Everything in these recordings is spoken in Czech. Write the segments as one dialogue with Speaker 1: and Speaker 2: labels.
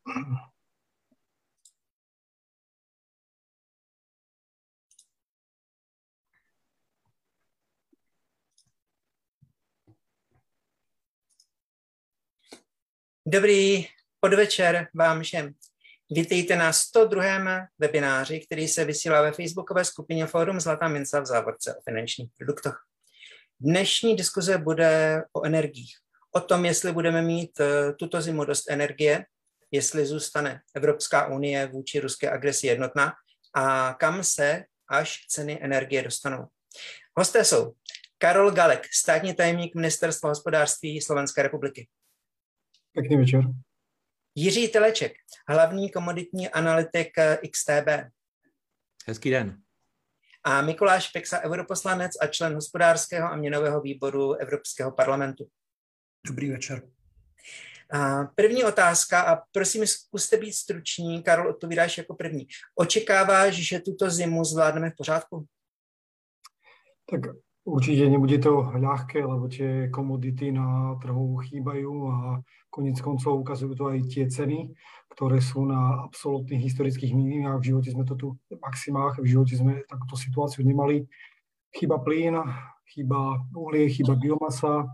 Speaker 1: Dobrý podvečer vám všem. Vítejte na 102. webináři, který se vysílá ve facebookové skupině Fórum Zlatá mince v závorce o finančních produktech. Dnešní diskuze bude o energiích. O tom, jestli budeme mít tuto zimu dost energie, jestli zůstane Evropská unie vůči ruské agresi jednotná a kam se až ceny energie dostanou. Hosté jsou Karol Galek, státní tajemník Ministerstva hospodářství Slovenské republiky.
Speaker 2: Pěkný večer.
Speaker 1: Jiří Teleček, hlavní komoditní analytik XTB.
Speaker 3: Hezký den.
Speaker 1: A Mikuláš Peksa, europoslanec a člen hospodářského a měnového výboru Evropského parlamentu.
Speaker 4: Dobrý večer.
Speaker 1: A první otázka, a prosím, zkuste být struční, Karol, odpovídáš jako první. Očekáváš, že tuto zimu zvládneme v pořádku?
Speaker 2: Tak určite nebude to ľahké, lebo tie komodity na trhu chýbajú a koniec koncov ukazujú to aj tie ceny, ktoré sú na absolútnych historických minimách. V živote sme to tu v maximách, v živote sme takúto situáciu nemali. Chýba plyn, chýba uhlie, chýba biomasa.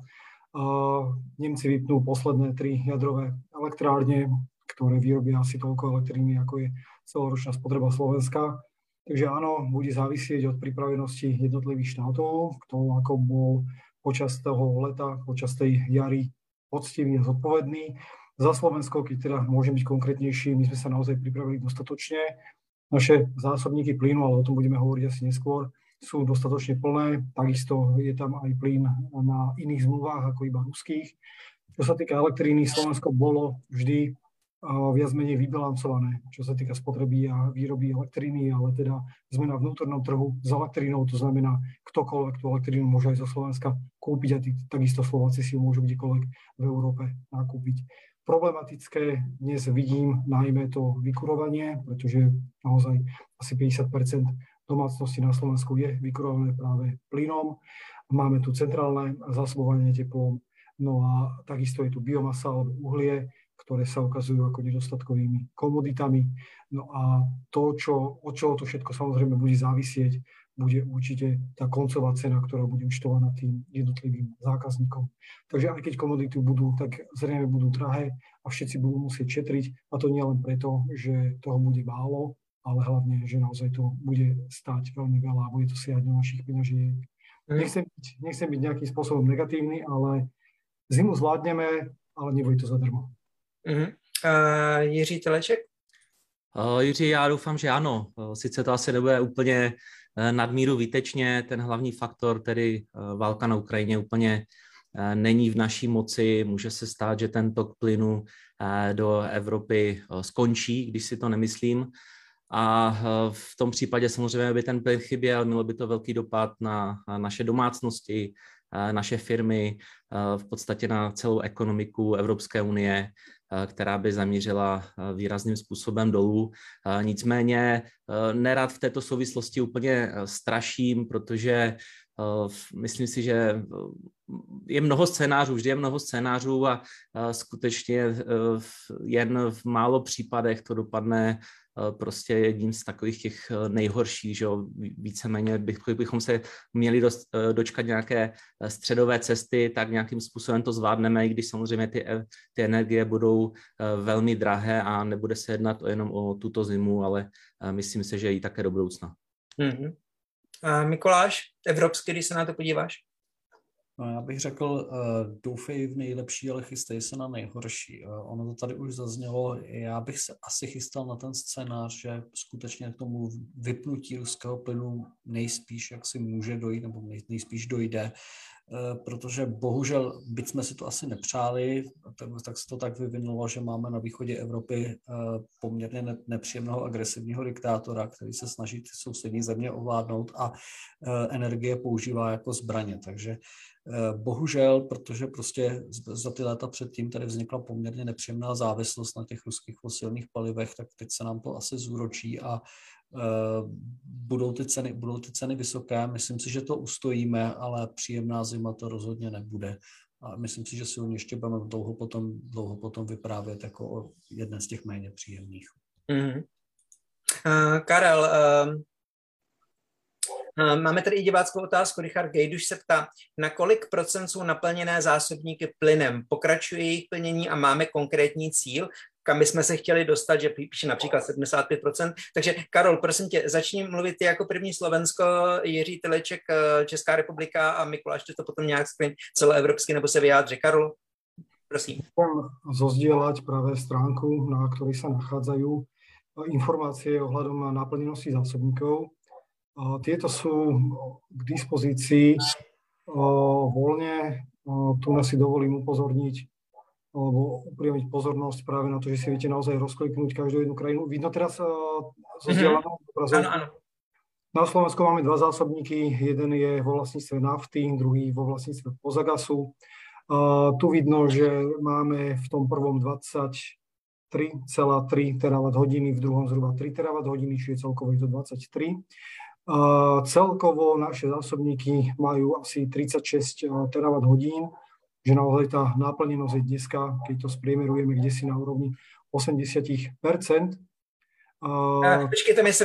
Speaker 2: Nemci vypnú posledné 3 jadrové elektrárne, ktoré vyrobia asi toľko elektriny, ako je celoročná spotreba Slovenska. Takže áno, bude závisieť od pripravenosti jednotlivých štátov, kto ako bol počas toho leta, počas tej jary poctivý a zodpovedný. Za Slovensko, keď teda môžem byť konkrétnejší, my sme sa naozaj pripravili dostatočne. Naše zásobníky plynu, ale o tom budeme hovoriť asi neskôr, sú dostatočne plné. Takisto je tam aj plyn na iných zmluvách ako iba ruských. Čo sa týka elektriny, Slovensko bolo vždy viac menej vybalancované, čo sa týka spotreby a výroby elektriny, ale teda sme na vnútornom trhu s elektrinou, to znamená, ktokoľvek tú elektrínu môže aj zo Slovenska kúpiť a takisto Slováci si ju môžu kdekoľvek v Európe nakúpiť. Problematické dnes vidím najmä to vykurovanie, pretože naozaj asi 50% domácnosti na Slovensku je vykurované práve plynom. Máme tu centrálne zásobovanie teplom, no a takisto je tu biomasa alebo uhlie, ktoré sa ukazujú ako nedostatkovými komoditami. No a to, od čoho to všetko samozrejme bude závisieť, bude určite tá koncová cena, ktorá bude účtovaná tým jednotlivým zákazníkom. Takže aj keď komodity budú, tak zrejme budú drahé a všetci budú musieť šetriť. A to nie len preto, že toho bude málo, ale hlavne, že naozaj to bude stáť veľmi veľa a bude to siahať do našich peňažiek. Nechcem byť nejakým spôsobom negatívny, ale zimu zvládneme, ale nebude to zadarmo.
Speaker 1: Jiří Teleček?
Speaker 3: Jiří, já doufám, že ano. Sice to asi nebude úplně nadmíru výtečně, ten hlavní faktor, tedy válka na Ukrajině, úplně není v naší moci. Může se stát, že ten tok plynu do Evropy skončí, když si to nemyslím. A v tom případě samozřejmě by ten plyn chyběl, mělo by to velký dopad na naše domácnosti, naše firmy, v podstatě na celou ekonomiku Evropské unie, která by zamířila výrazným způsobem dolů. Nicméně nerad v této souvislosti úplně straším, protože myslím si, že je mnoho scénářů, vždy je mnoho scénářů a skutečně jen v málo případech to dopadne prostě jedním z takových těch nejhorších, že jo, víceméně bychom se měli dočkat nějaké středové cesty, tak nějakým způsobem to zvládneme, i když samozřejmě ty energie budou velmi drahé a nebude se jednat jenom o tuto zimu, ale myslím si, že i také do budoucna.
Speaker 1: Mm-hmm. A Mikuláš, evropsky, když se na to podíváš?
Speaker 4: No, já bych řekl, doufej v nejlepší, ale chystej se na nejhorší. Ono to tady už zaznělo, já bych se asi chystal na ten scénář, že skutečně k tomu vypnutí ruského plynu nejspíš jak si může dojít, nebo nejspíš dojde, protože bohužel, byť jsme si to asi nepřáli, tak se to tak vyvinulo, že máme na východě Evropy poměrně nepříjemného agresivního diktátora, který se snaží ty sousední země ovládnout a energie používá jako zbraně. Takže bohužel, protože prostě za ty léta předtím tady vznikla poměrně nepříjemná závislost na těch ruských fosilních palivech, tak teď se nám to asi zúročí a budou ty ceny vysoké. Myslím si, že to ustojíme, ale příjemná zima to rozhodně nebude. A myslím si, že si o ní ještě budeme dlouho potom vyprávět jako o jedné z těch méně příjemných.
Speaker 1: Mm-hmm. Karel, máme tady i diváckou otázku. Richard Gejduš se ptá, na kolik procent jsou naplněné zásobníky plynem? Pokračuje jejich plnění a máme konkrétní cíl, kam bychom se chtěli dostat, že píše například 75%. Takže Karol, prosím tě, začni mluvit ty jako první Slovensko, Jiří Tyleček, Česká republika a Mikuláš to potom nějak celoevropsky nebo se vyjádří. Karol, prosím.
Speaker 2: Chcem zozdieľať práve stránku, na ktorej sa nachádzajú informácie ohľadom naplnenosti zásobníkov. Tieto sú k dispozícii voľne. Tu nás si dovolím upozorniť alebo upriamiť pozornosť práve na to, že si viete naozaj rozkliknúť každú jednu krajinu. Vidno teraz zozdieľanú obrazovku?
Speaker 1: Áno.
Speaker 2: Na Slovensku máme dva zásobníky. Jeden je vo vlastníctve nafty, druhý vo vlastníctve Pozagasu. Tu vidno, že máme v tom prvom 23,3 terawatt-hodiny, v druhom zhruba 3 terawatt-hodiny, čiže celkovo je to 23. Celkovo naše zásobníky majú asi 36 terawatt-hodín, že naozaj tá náplnenosť je dneska, keď to spriemerujeme kdesi na úrovni 80%.
Speaker 1: Počkej, tam je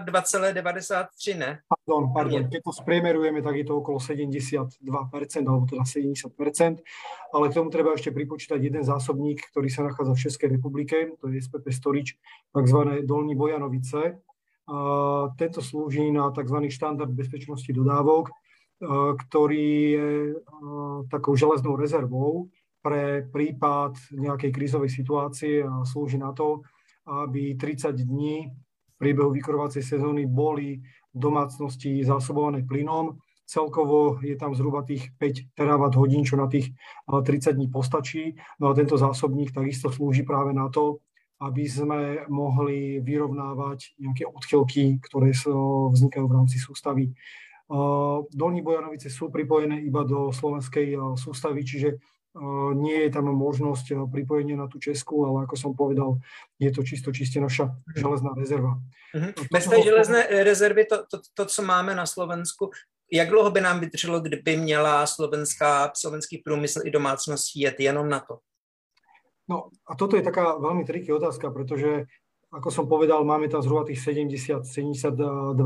Speaker 1: 72,93, ne?
Speaker 2: Pardon. Keď to spriemerujeme, tak je to okolo 72%, alebo teda 70%, ale k tomu treba ešte pripočítať jeden zásobník, ktorý sa nachádza v Českej republike, to je SPP Storage, takzvané Dolní Bojanovice. Tento slúži na tzv. Štandard bezpečnosti dodávok, ktorý je takou železnou rezervou pre prípad nejakej krízovej situácie a slúži na to, aby 30 dní v priebehu vykurovacej sezóny boli domácnosti zásobované plynom. Celkovo je tam zhruba tých 5 terawatt-hodín, čo na tých 30 dní postačí. No a tento zásobník takisto slúži práve na to, aby sme mohli vyrovnávať nejaké odchylky, ktoré vznikajú v rámci sústavy. Dolní Bojanovice sú pripojené iba do slovenskej sústavy, čiže nie je tam možnosť pripojenia na tú českú, ale ako som povedal, je to čiste naša železná rezerva.
Speaker 1: Bez té železné rezervy, to, co máme na Slovensku, jak dlouho by nám vydrželo, kdyby měla slovenský průmysl i domácnost jet jenom na to?
Speaker 2: No a toto je taká veľmi triky otázka, pretože ako som povedal, máme tam zhruba tých 70-72%,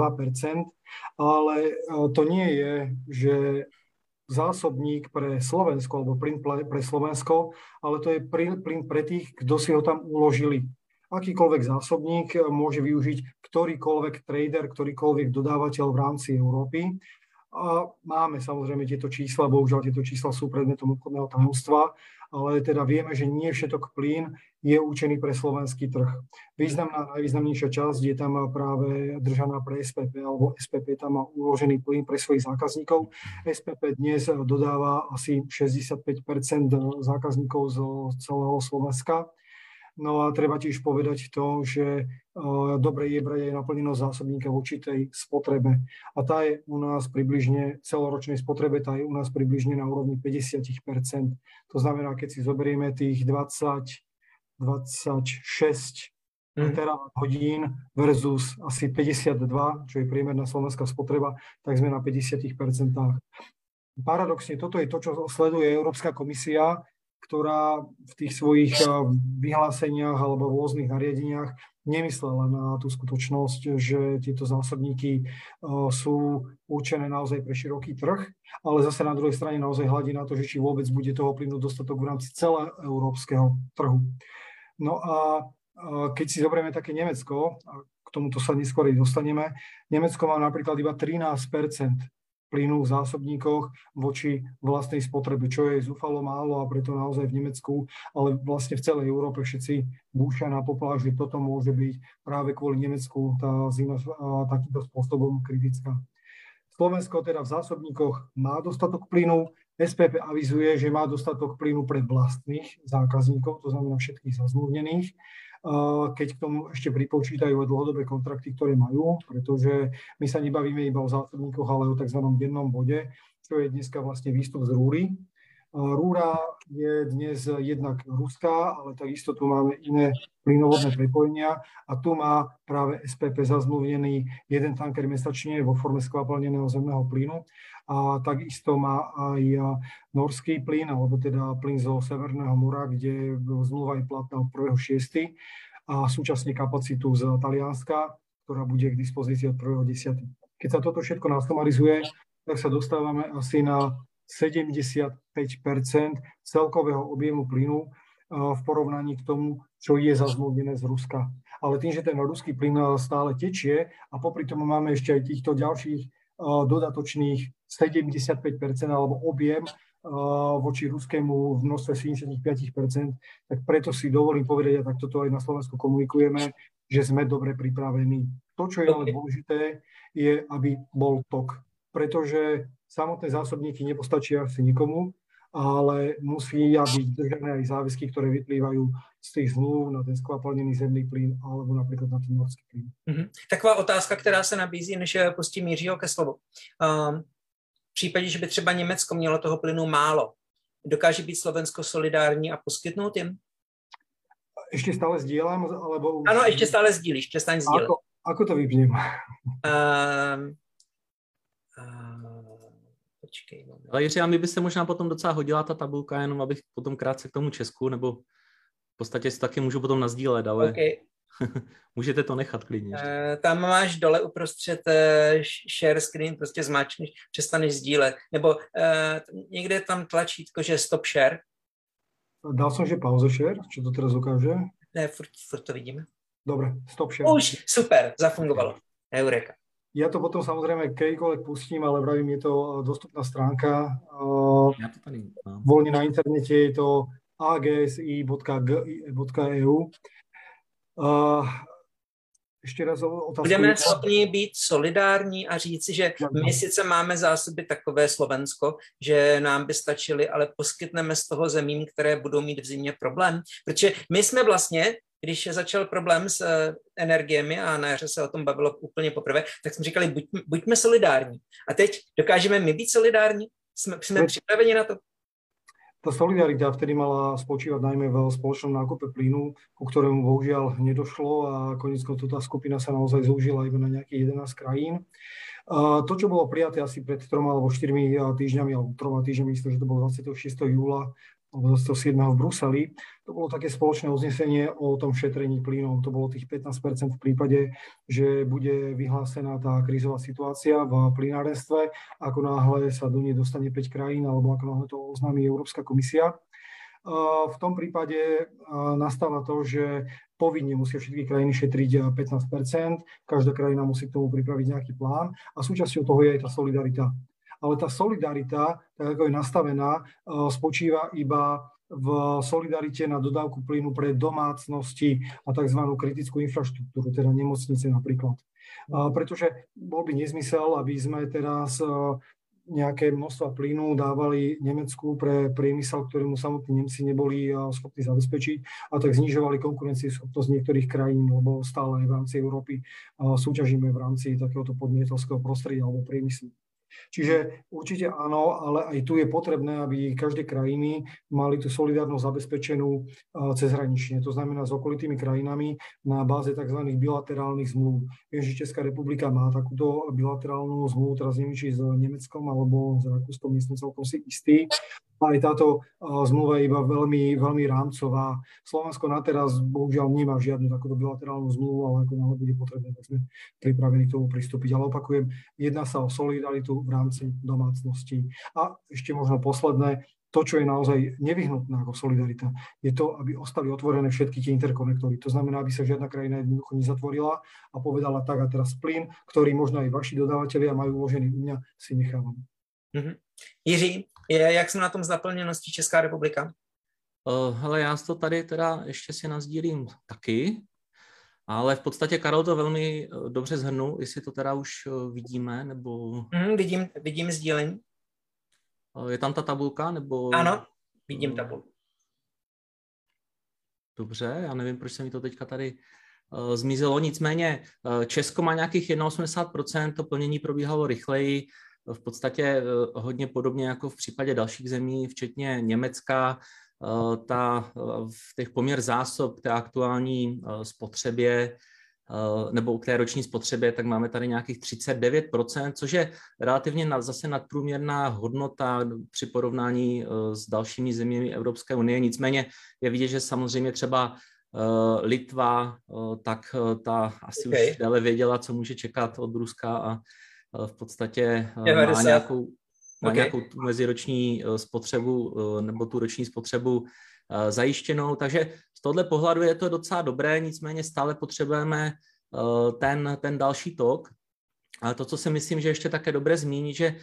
Speaker 2: ale to nie je, že zásobník pre Slovensko, alebo plyn pre Slovensko, ale to je plyn pre tých, kto si ho tam uložili. Akýkoľvek zásobník môže využiť ktorýkoľvek trader, ktorýkoľvek dodávateľ v rámci Európy. A máme samozrejme tieto čísla, bohužiaľ tieto čísla sú predmetom obchodného tajomstva, ale teda vieme, že nie všetok plyn je určený pre slovenský trh. Najvýznamnejšia časť je tam práve držaná pre SPP, alebo SPP tam má uložený plyn pre svojich zákazníkov. SPP dnes dodáva asi 65% zákazníkov z celého Slovenska. No a treba tiež povedať to, že dobre je brať aj naplnenosť zásobníka v určitej spotrebe. A tá je u nás približne, celoročnej spotrebe, tá je u nás približne na úrovni 50%. To znamená, keď si zoberieme tých 26 terawatt-hodín versus asi 52, čo je priemerná slovenská spotreba, tak sme na 50%. Paradoxne, toto je to, čo sleduje Európska komisia, ktorá v tých svojich vyhláseniach alebo rôznych nariadeniach nemyslela na tú skutočnosť, že tieto zásobníky sú určené naozaj pre široký trh, ale zase na druhej strane naozaj hľadí na to, že či vôbec bude toho plynu dostatok v rámci celého európskeho trhu. No a keď si zoberieme také Nemecko, a k tomuto sa neskôr dostaneme, Nemecko má napríklad iba 13% plynu v zásobníkoch voči vlastnej spotrebe, čo je zúfalo málo a preto naozaj v Nemecku, ale vlastne v celej Európe všetci búšia na poplach, že toto môže byť práve kvôli Nemecku tá zima takýmto spôsobom kritická. Slovensko teda v zásobníkoch má dostatok plynu, SPP avizuje, že má dostatok plynu pre vlastných zákazníkov, to znamená všetkých zazmluvnených, keď k tomu ešte pripočítajú aj dlhodobé kontrakty, ktoré majú, pretože my sa nebavíme iba o zásobníkoch, ale o tzv. Dennom bode, čo je dneska vlastne výstup z rúry. Rúra je dnes jednak ruská, ale takisto tu máme iné plynovodné prepojenia a tu má práve SPP zazmluvnený jeden tanker mesačne vo forme skvapalneného zemného plynu a takisto má aj norský plyn, alebo teda plyn zo Severného mora, kde zmluva je platná od 1.6. a súčasne kapacitu z Talianska, ktorá bude k dispozícii od 1.10. Keď sa toto všetko nasumarizuje, tak sa dostávame asi na 75% celkového objemu plynu v porovnaní k tomu, čo je zazmluvnené z Ruska. Ale tým, že ten ruský plyn stále tečie a popri tom máme ešte aj týchto ďalších dodatočných 75% alebo objem voči ruskému v množstve 75%, tak preto si dovolím povedať, a tak toto aj na Slovensku komunikujeme, že sme dobre pripravení. To, čo je ale dôležité, je, aby bol tok. Pretože samotné zásobníky nepostačia asi nikomu, ale musia byť držané aj záväzky, ktoré vyplývajú z tých zmluv na ten skvapalnený zemný plyn alebo napríklad na ten norský plyn.
Speaker 1: Taková otázka, která se nabízí, než pustím Jiřího ke slovu. V případě, že by třeba Německo mělo toho plynu málo, dokáže být Slovensko solidární a poskytnout jim?
Speaker 2: Ešte stále sdielam? Alebo...
Speaker 1: Ano, ešte stále sdílíš, přestaň sdílet.
Speaker 2: Ako to vypnem?
Speaker 1: Počkej.
Speaker 3: Ale Jiří, a mi by se možná potom docela hodila ta tabulka, jenom abych potom krátce k tomu Česku, nebo v podstatě si taky můžu potom nazdílet, ale okay. Můžete to nechat klidně.
Speaker 1: Tam máš dole uprostřed share screen, prostě zmáčkneš, přestaneš sdílet, nebo někde je tam tlačítko, že stop share.
Speaker 2: Dal som, že pauza share, čo to teraz ukáže?
Speaker 1: Ne, furt to vidíme.
Speaker 2: Dobre, stop share.
Speaker 1: Už, super, zafungovalo. Eureka.
Speaker 2: Ja to potom samozrejme kedykoľvek pustím, ale vravím, je to dostupná stránka.
Speaker 3: Ja to tady mám.
Speaker 2: Voľne na internete je to agsi.eu. Ještě raz otázku.
Speaker 1: Budeme schopni být solidární a říci, že my sice máme zásoby takové Slovensko, že nám by stačily, ale poskytneme z toho zemím, které budou mít v zimě problém. Protože my jsme vlastně, když začal problém s energiemi a na jaře se o tom bavilo úplně poprvé, tak jsme říkali, buďme solidární. A teď dokážeme my být solidární? Jsme připraveni na to?
Speaker 2: Tá solidarita vtedy mala spočívať najmä v spoločnom nákupe plynu, ku ktorému bohužiaľ nedošlo a koniec koncov tá skupina sa naozaj zúžila iba na nejakých 11 krajín. To, čo bolo prijaté asi pred 3 alebo 4 týždňami, alebo 3 týždňami, myslím, že to bolo 26. júla alebo 27. v Bruseli, to bolo také spoločné uznesenie o tom šetrení plynom. To bolo tých 15% v prípade, že bude vyhlásená tá krízová situácia v plynárenstve, ako náhle sa do nej dostane 5 krajín, alebo ako náhle to oznámi Európska komisia. V tom prípade nastáva to, že povinne musia všetky krajiny šetriť 15%, každá krajina musí k tomu pripraviť nejaký plán a súčasťou toho je aj tá solidarita. Ale tá solidarita, tak ako je nastavená, spočíva iba v solidarite na dodávku plynu pre domácnosti a tzv. Kritickú infraštruktúru, teda nemocnice napríklad. Pretože bol by nezmysel, aby sme teraz nejaké množstva plynu dávali Nemecku pre priemysel, ktorému samotní Nemci neboli schopní zabezpečiť a tak znižovali konkurencieschopnosť niektorých krajín, lebo stále aj v rámci Európy súťažíme v rámci takéhoto podnikateľského prostredia alebo priemyslu. Čiže určite áno, ale aj tu je potrebné, aby každé krajiny mali tú solidárnosť zabezpečenú cezhranične. To znamená s okolitými krajinami na báze tzv. Bilaterálnych zmluv. Viem, že Česká republika má takúto bilaterálnu zmluvu, teraz neviem, či s Nemeckom alebo s Rakúskom, nie som celkom si istý. Aj táto zmluva je iba veľmi, veľmi rámcová. Slovensko na teraz bohužiaľ nemá žiadnu takúto bilaterálnu zmluvu, ale ako náhle bude potrebné, tak sme pripravení k tomu pristúpiť. Ale opakujem, jedná sa o solidaritu v rámci domácností. A ešte možno posledné, to, čo je naozaj nevyhnutné ako solidarita, je to, aby ostali otvorené všetky tie interkonektory. To znamená, aby sa žiadna krajina jednoducho nezatvorila a povedala tak a teraz plyn, ktorý možno aj vaši dodavatelia majú uložený u mňa, si nechávam.
Speaker 1: Jiří, jak jsme na tom s naplněností Česká republika?
Speaker 3: Hele, já to tady teda ještě si nazdílím taky, ale v podstatě Karol to velmi dobře shrnul, jestli to teda už vidíme, nebo...
Speaker 1: Vidím sdílení.
Speaker 3: Je tam ta tabulka, nebo...
Speaker 1: Ano, vidím tabulku.
Speaker 3: Dobře, já nevím, proč se mi to teďka tady zmizelo, nicméně Česko má nějakých 81%, to plnění probíhalo rychleji, v podstatě hodně podobně jako v případě dalších zemí, včetně Německa, v těch poměr zásob k té aktuální spotřebě nebo k té roční spotřebě, tak máme tady nějakých 39%, což je relativně zase nadprůměrná hodnota při porovnání s dalšími zeměmi Evropské unie. Nicméně je vidět, že samozřejmě třeba Litva, tak ta asi už déle věděla, co může čekat od Ruska a v podstatě má nějakou tu meziroční spotřebu nebo tu roční spotřebu zajištěnou. Takže z tohoto pohledu je to docela dobré, nicméně stále potřebujeme ten další tok. Ale to, co si myslím, že ještě také dobré zmínit, že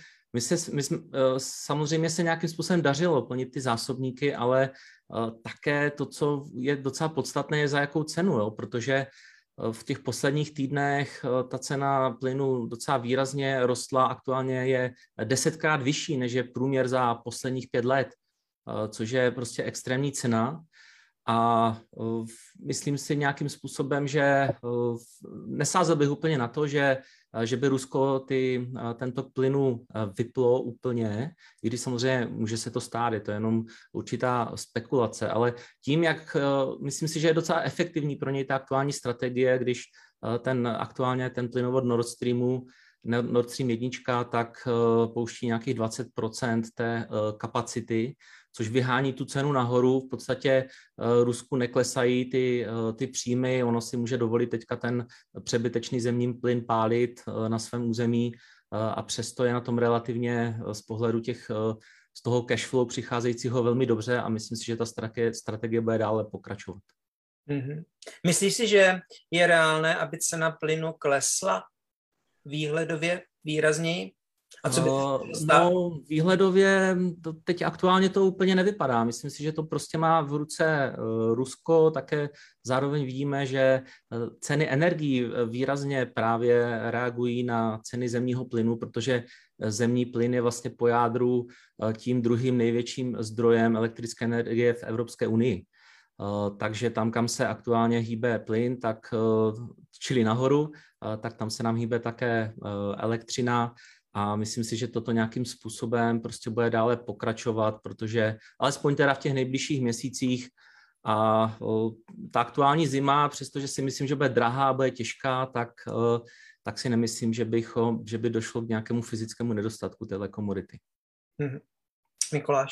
Speaker 3: samozřejmě se nějakým způsobem dařilo plnit ty zásobníky, ale také to, co je docela podstatné, je za jakou cenu, jo? Protože v těch posledních týdnech ta cena plynu docela výrazně rostla, aktuálně je 10krát vyšší, než je průměr za posledních 5 let, což je prostě extrémní cena. A myslím si nějakým způsobem, že nesázel bych úplně na to, že by Rusko tento plynu vyplo úplně, i když samozřejmě může se to stát, je to jenom určitá spekulace, ale tím, jak myslím si, že je docela efektivní pro něj ta aktuální strategie, když aktuálně ten plynovod Nord Stream 1, tak pouští nějakých 20% té kapacity, což vyhání tu cenu nahoru. V podstatě Rusku neklesají ty příjmy, ono si může dovolit teďka ten přebytečný zemní plyn pálit na svém území a přesto je na tom relativně z pohledu z toho cashflow přicházejícího velmi dobře a myslím si, že ta strategie bude dále pokračovat.
Speaker 1: Mm-hmm. Myslíš si, že je reálné, aby cena plynu klesla výhledově výrazněji? A co by
Speaker 3: výhledově teď aktuálně to úplně nevypadá. Myslím si, že to prostě má v ruce Rusko. Také zároveň vidíme, že ceny energií výrazně právě reagují na ceny zemního plynu, protože zemní plyn je vlastně po jádru tím druhým největším zdrojem elektrické energie v Evropské unii. Takže tam, kam se aktuálně hýbe plyn, čili nahoru, tak tam se nám hýbe také elektřina. A myslím si, že toto nějakým způsobem prostě bude dále pokračovat, protože alespoň teda v těch nejbližších měsících a ta aktuální zima, přestože si myslím, že bude drahá, bude těžká, tak si nemyslím, že by došlo k nějakému fyzickému nedostatku téhle komodity.
Speaker 1: Mikuláš.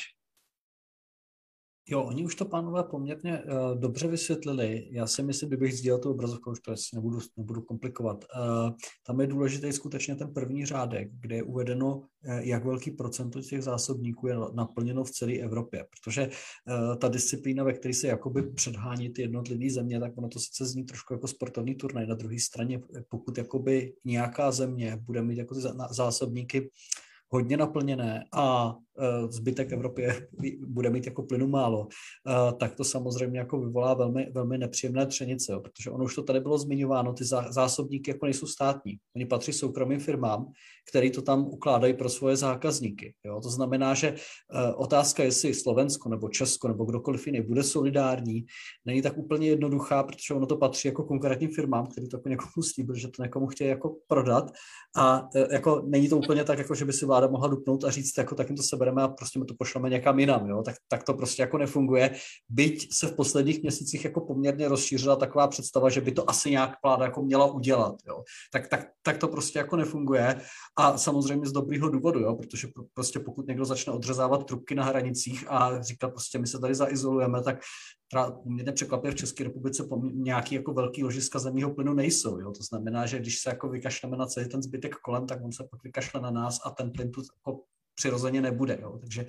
Speaker 4: Jo, oni už to, pánové, poměrně dobře vysvětlili. Já si myslím, kdybych sdílel tu obrazovku, už to asi nebudu komplikovat. Tam je důležitý skutečně ten první řádek, kde je uvedeno, jak velký procento těch zásobníků je naplněno v celé Evropě. Protože ta disciplína, ve které se jakoby předhání ty jednotlivé země, tak ono to sice zní trošku jako sportovní turnaj. Na druhé straně, pokud jakoby nějaká země bude mít jako ty zásobníky hodně naplněné a zbytek Evropy bude mít jako plynu málo, tak to samozřejmě jako vyvolá velmi, velmi nepříjemné třenice, jo, protože ono už to tady bylo zmiňováno, ty zásobníky jako nejsou státní. Oni patří soukromým firmám, který to tam ukládají pro svoje zákazníky. Jo. To znamená, že otázka, jestli Slovensko nebo Česko nebo kdokoliv jiný bude solidární, není tak úplně jednoduchá, protože ono to patří jako konkrétním firmám, který to jako někomu slíbil, že to někomu chtějí jako prodat a jako není to úplně tak, jako že by si vláda mohla dupnout a říct, jako tak jim to sebereme a prostě my to pošleme někam jinam, jo? Tak to prostě jako nefunguje. Byť se v posledních měsících jako poměrně rozšířila taková představa, že by to asi nějak vláda jako měla udělat, jo? Tak to prostě jako nefunguje a samozřejmě z dobrýho důvodu, jo? Protože prostě pokud někdo začne odřezávat trubky na hranicích a říká prostě my se tady zaizolujeme, tak poměrně překvapivě v České republice nějaký jako velký ložiska zemního plynu nejsou, jo? To znamená, že když se jako vykašleme na celý ten zbytek kolem, tak on se pak vykašle na nás a ten plyn tu jako přirozeně nebude. Jo. Takže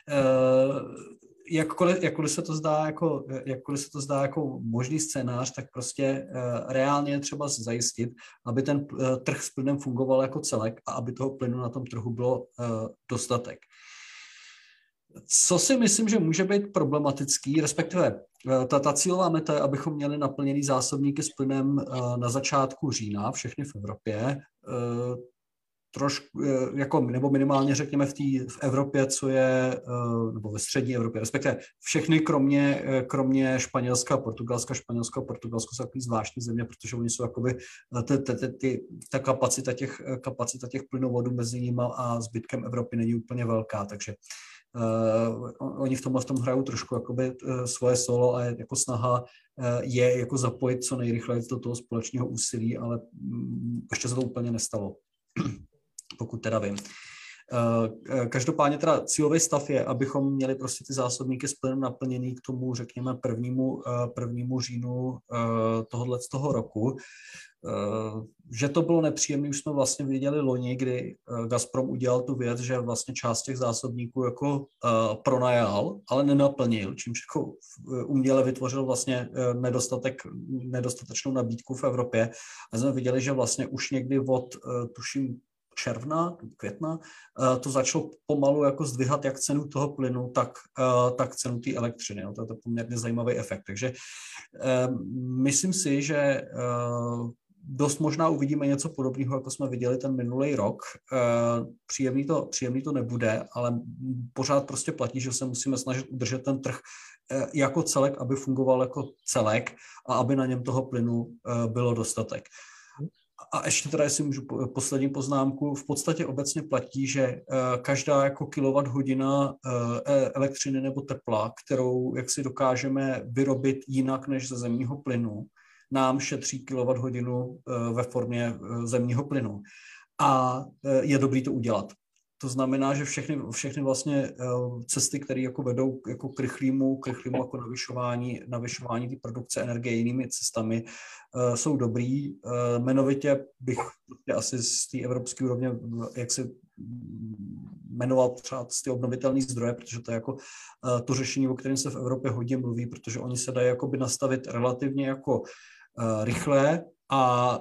Speaker 4: jakkoliv se to zdá jako možný scénář, tak prostě reálně je třeba zajistit, aby ten trh s plynem fungoval jako celek a aby toho plynu na tom trhu bylo dostatek. Co si myslím, že může být problematický, respektive ta cílová meta je, abychom měli naplněný zásobníky s plynem na začátku října, všechny v Evropě. trošku, jako, nebo minimálně řekněme v Evropě, co je, nebo ve střední Evropě, respektive všechny kromě Španělska a Portugalska. Španělsko a Portugalsko jsou takový zvláštní země, protože oni jsou jakoby ta kapacita těch plynovodů mezi nimi a zbytkem Evropy není úplně velká, takže oni v tom hrajou trošku jakoby svoje solo a jako snaha je jako zapojit co nejrychleji do toho společného úsilí, ale ještě se to úplně nestalo, pokud teda vím. Každopádně teda cílový stav je, abychom měli prostě ty zásobníky s plynem naplněný k tomu, řekněme, prvnímu říjnu z toho roku. Že to bylo nepříjemné, už jsme vlastně viděli loni, kdy Gazprom udělal tu věc, že vlastně část těch zásobníků jako pronajal, ale nenaplnil, čímž jako uměle vytvořil vlastně nedostatečnou nabídku v Evropě. A jsme viděli, že vlastně už někdy od, tuším, června, května, to začalo pomalu jako zdvihat jak cenu toho plynu, tak cenu té elektřiny. To je poměrně zajímavý efekt. Takže myslím si, že dost možná uvidíme něco podobného, jako jsme viděli ten minulý rok. Příjemný to nebude, ale pořád prostě platí, že se musíme snažit udržet ten trh jako celek, aby fungoval jako celek a aby na něm toho plynu bylo dostatek. A ještě teda, jestli můžu poslední poznámku, v podstatě obecně platí, že každá jako kilowatthodina elektřiny nebo tepla, kterou jak si dokážeme vyrobit jinak než ze zemního plynu, nám šetří kilowatthodinu ve formě zemního plynu. A je dobrý to udělat. To znamená, že všechny vlastně cesty, které jako vedou jako k rychlému jako navyšování té produkce energie jinými cestami, jsou dobrý. Jmenovitě bych asi z té evropské úrovně jak si jmenoval třeba ty obnovitelné zdroje, protože to je jako to řešení, o kterém se v Evropě hodně mluví, protože oni se dají jakoby nastavit relativně jako rychle a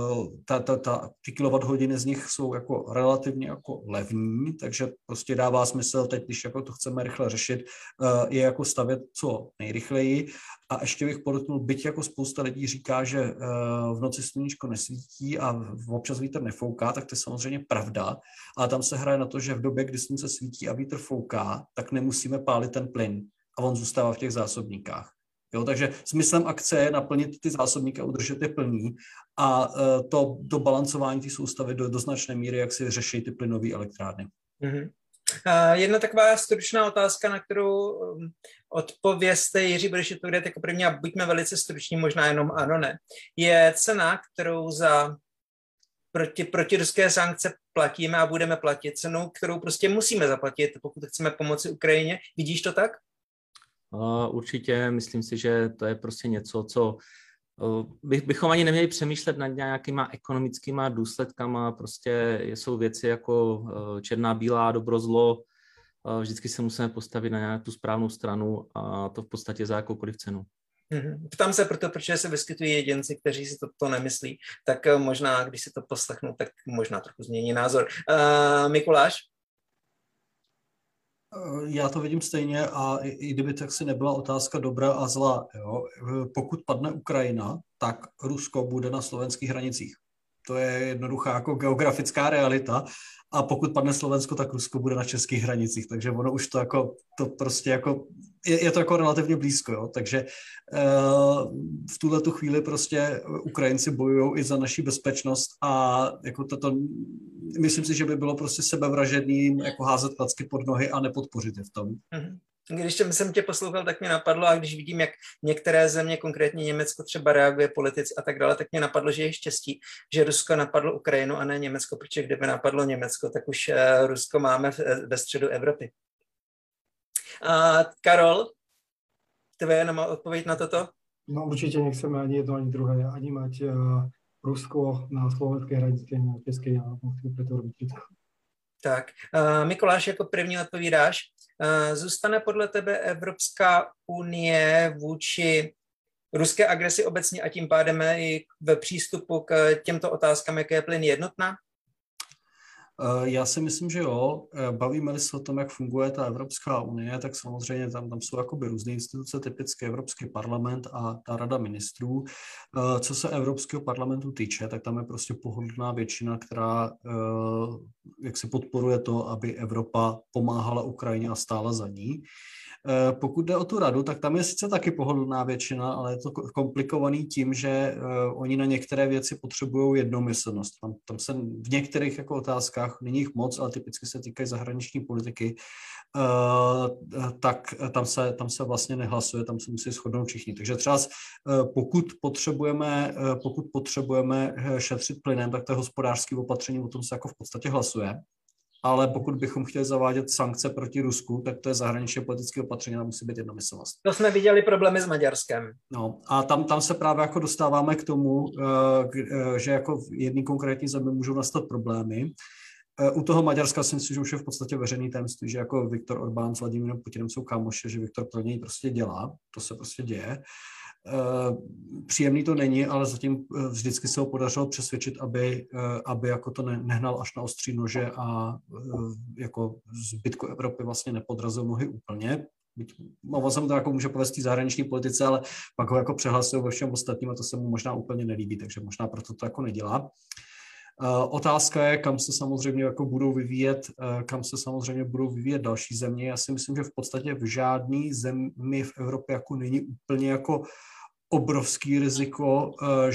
Speaker 4: ty kilowatthodiny z nich jsou jako relativně jako levní, takže prostě dává smysl teď, když jako to chceme rychle řešit, je jako stavět co nejrychleji. A ještě bych podotknul, byť jako spousta lidí říká, že v noci sluníčko nesvítí a občas vítr nefouká, tak to je samozřejmě pravda, ale tam se hraje na to, že v době, kdy slunce svítí a vítr fouká, tak nemusíme pálit ten plyn a on zůstává v těch zásobníkách. Jo, takže smyslem akce je naplnit ty zásobníky a udržet je plný a to balancování té soustavy do značné míry, jak si řeší ty plynové elektrárny.
Speaker 1: Mm-hmm. Jedna taková stručná otázka, na kterou odpovězte, Jiří, budeš odpovědět jako první a buďme velice struční, možná jenom ano, ne. Je cena, kterou za proti ruské sankce platíme a budeme platit, cenou, kterou prostě musíme zaplatit, pokud chceme pomoci Ukrajině. Vidíš to tak?
Speaker 3: Určitě, myslím si, že to je prostě něco, co bychom ani neměli přemýšlet nad nějakýma ekonomickýma důsledkama, prostě jsou věci jako černá, bílá, dobro, zlo, vždycky se musíme postavit na nějakou tu správnou stranu a to v podstatě za jakoukoliv cenu.
Speaker 1: Ptám se proto, protože se vyskytují jedinci, kteří si to nemyslí, tak možná, když si to poslechnou, tak možná trochu změní názor. Mikuláš?
Speaker 4: Já to vidím stejně a i kdyby tak si nebyla otázka dobra a zla, jo? Pokud padne Ukrajina, tak Rusko bude na slovenských hranicích. To je jednoduchá jako geografická realita a pokud padne Slovensko, tak Rusko bude na českých hranicích, takže ono už to jako, to prostě jako, je to jako relativně blízko, jo? Takže v tuhletu chvíli prostě Ukrajinci bojují i za naši bezpečnost a jako myslím si, že by bylo prostě sebevražedným jako házet klacky pod nohy a nepodpořit je v tom.
Speaker 1: Když jsem tě poslouchal, tak mě napadlo, a když vidím, jak některé země, konkrétně Německo třeba reaguje politici a tak dále, tak mě napadlo, že je štěstí, že Rusko napadlo Ukrajinu a ne Německo, protože kdyby napadlo Německo, tak už Rusko máme ve středu Evropy. Karol, tvoje jenom odpověď na toto?
Speaker 2: No určite nechceme ani jedno, ani druhé, ani mať Rusko na slovenskej hranici, ani na českej, a musíme preto robiť všetko.
Speaker 1: Tak, Mikuláš, jako první odpovídáš. Zůstane podle tebe Evropská unie vůči ruské agresi obecně a tím pádem i ve přístupu k těmto otázkám, jak je plyn, jednotná?
Speaker 4: Já si myslím, že jo. Bavíme-li se o tom, jak funguje ta Evropská unie, tak samozřejmě tam jsou jakoby různé instituce, typicky Evropský parlament a ta Rada ministrů. Co se Evropského parlamentu týče, tak tam je prostě pohodlná většina, která jak si podporuje to, aby Evropa pomáhala Ukrajině a stála za ní. Pokud jde o tu radu, tak tam je sice taky pohodlná většina, ale je to komplikovaný tím, že oni na některé věci potřebují jednomyslnost. Tam se v některých jako otázkách, není jich moc, ale typicky se týkají zahraniční politiky, tak tam se vlastně nehlasuje, tam se musí shodnout všichni. Takže třeba pokud potřebujeme šetřit plynem, tak to je hospodářské opatření, o tom se jako v podstatě hlasuje. Ale pokud bychom chtěli zavádět sankce proti Rusku, tak to je zahraničně politické opatření, tam musí být jednomyslnost.
Speaker 1: To jsme viděli problémy s Maďarskem.
Speaker 4: No a tam se právě jako dostáváme k tomu, že jako v jedné konkrétní zemi můžou nastat problémy. U toho Maďarska si myslím, že už je v podstatě veřejný tajemství, že jako Viktor Orbán s Vladimírem Putinem jsou kámoši, že Viktor pro něj prostě dělá, to se prostě děje. Příjemný to není, ale zatím vždycky se ho podařilo přesvědčit, aby jako to nehnal až na ostří nože a jako zbytku Evropy vlastně nepodrazil nohy úplně. Ono se mu to jako může povést v zahraniční politice, ale pak ho jako přehlasují ve všem ostatním a to se mu možná úplně nelíbí, takže možná proto to jako nedělá. Otázka je, kam se samozřejmě budou vyvíjet další země. Já si myslím, že v podstatě v žádný zemi v Evropě jako není úplně jako obrovský riziko,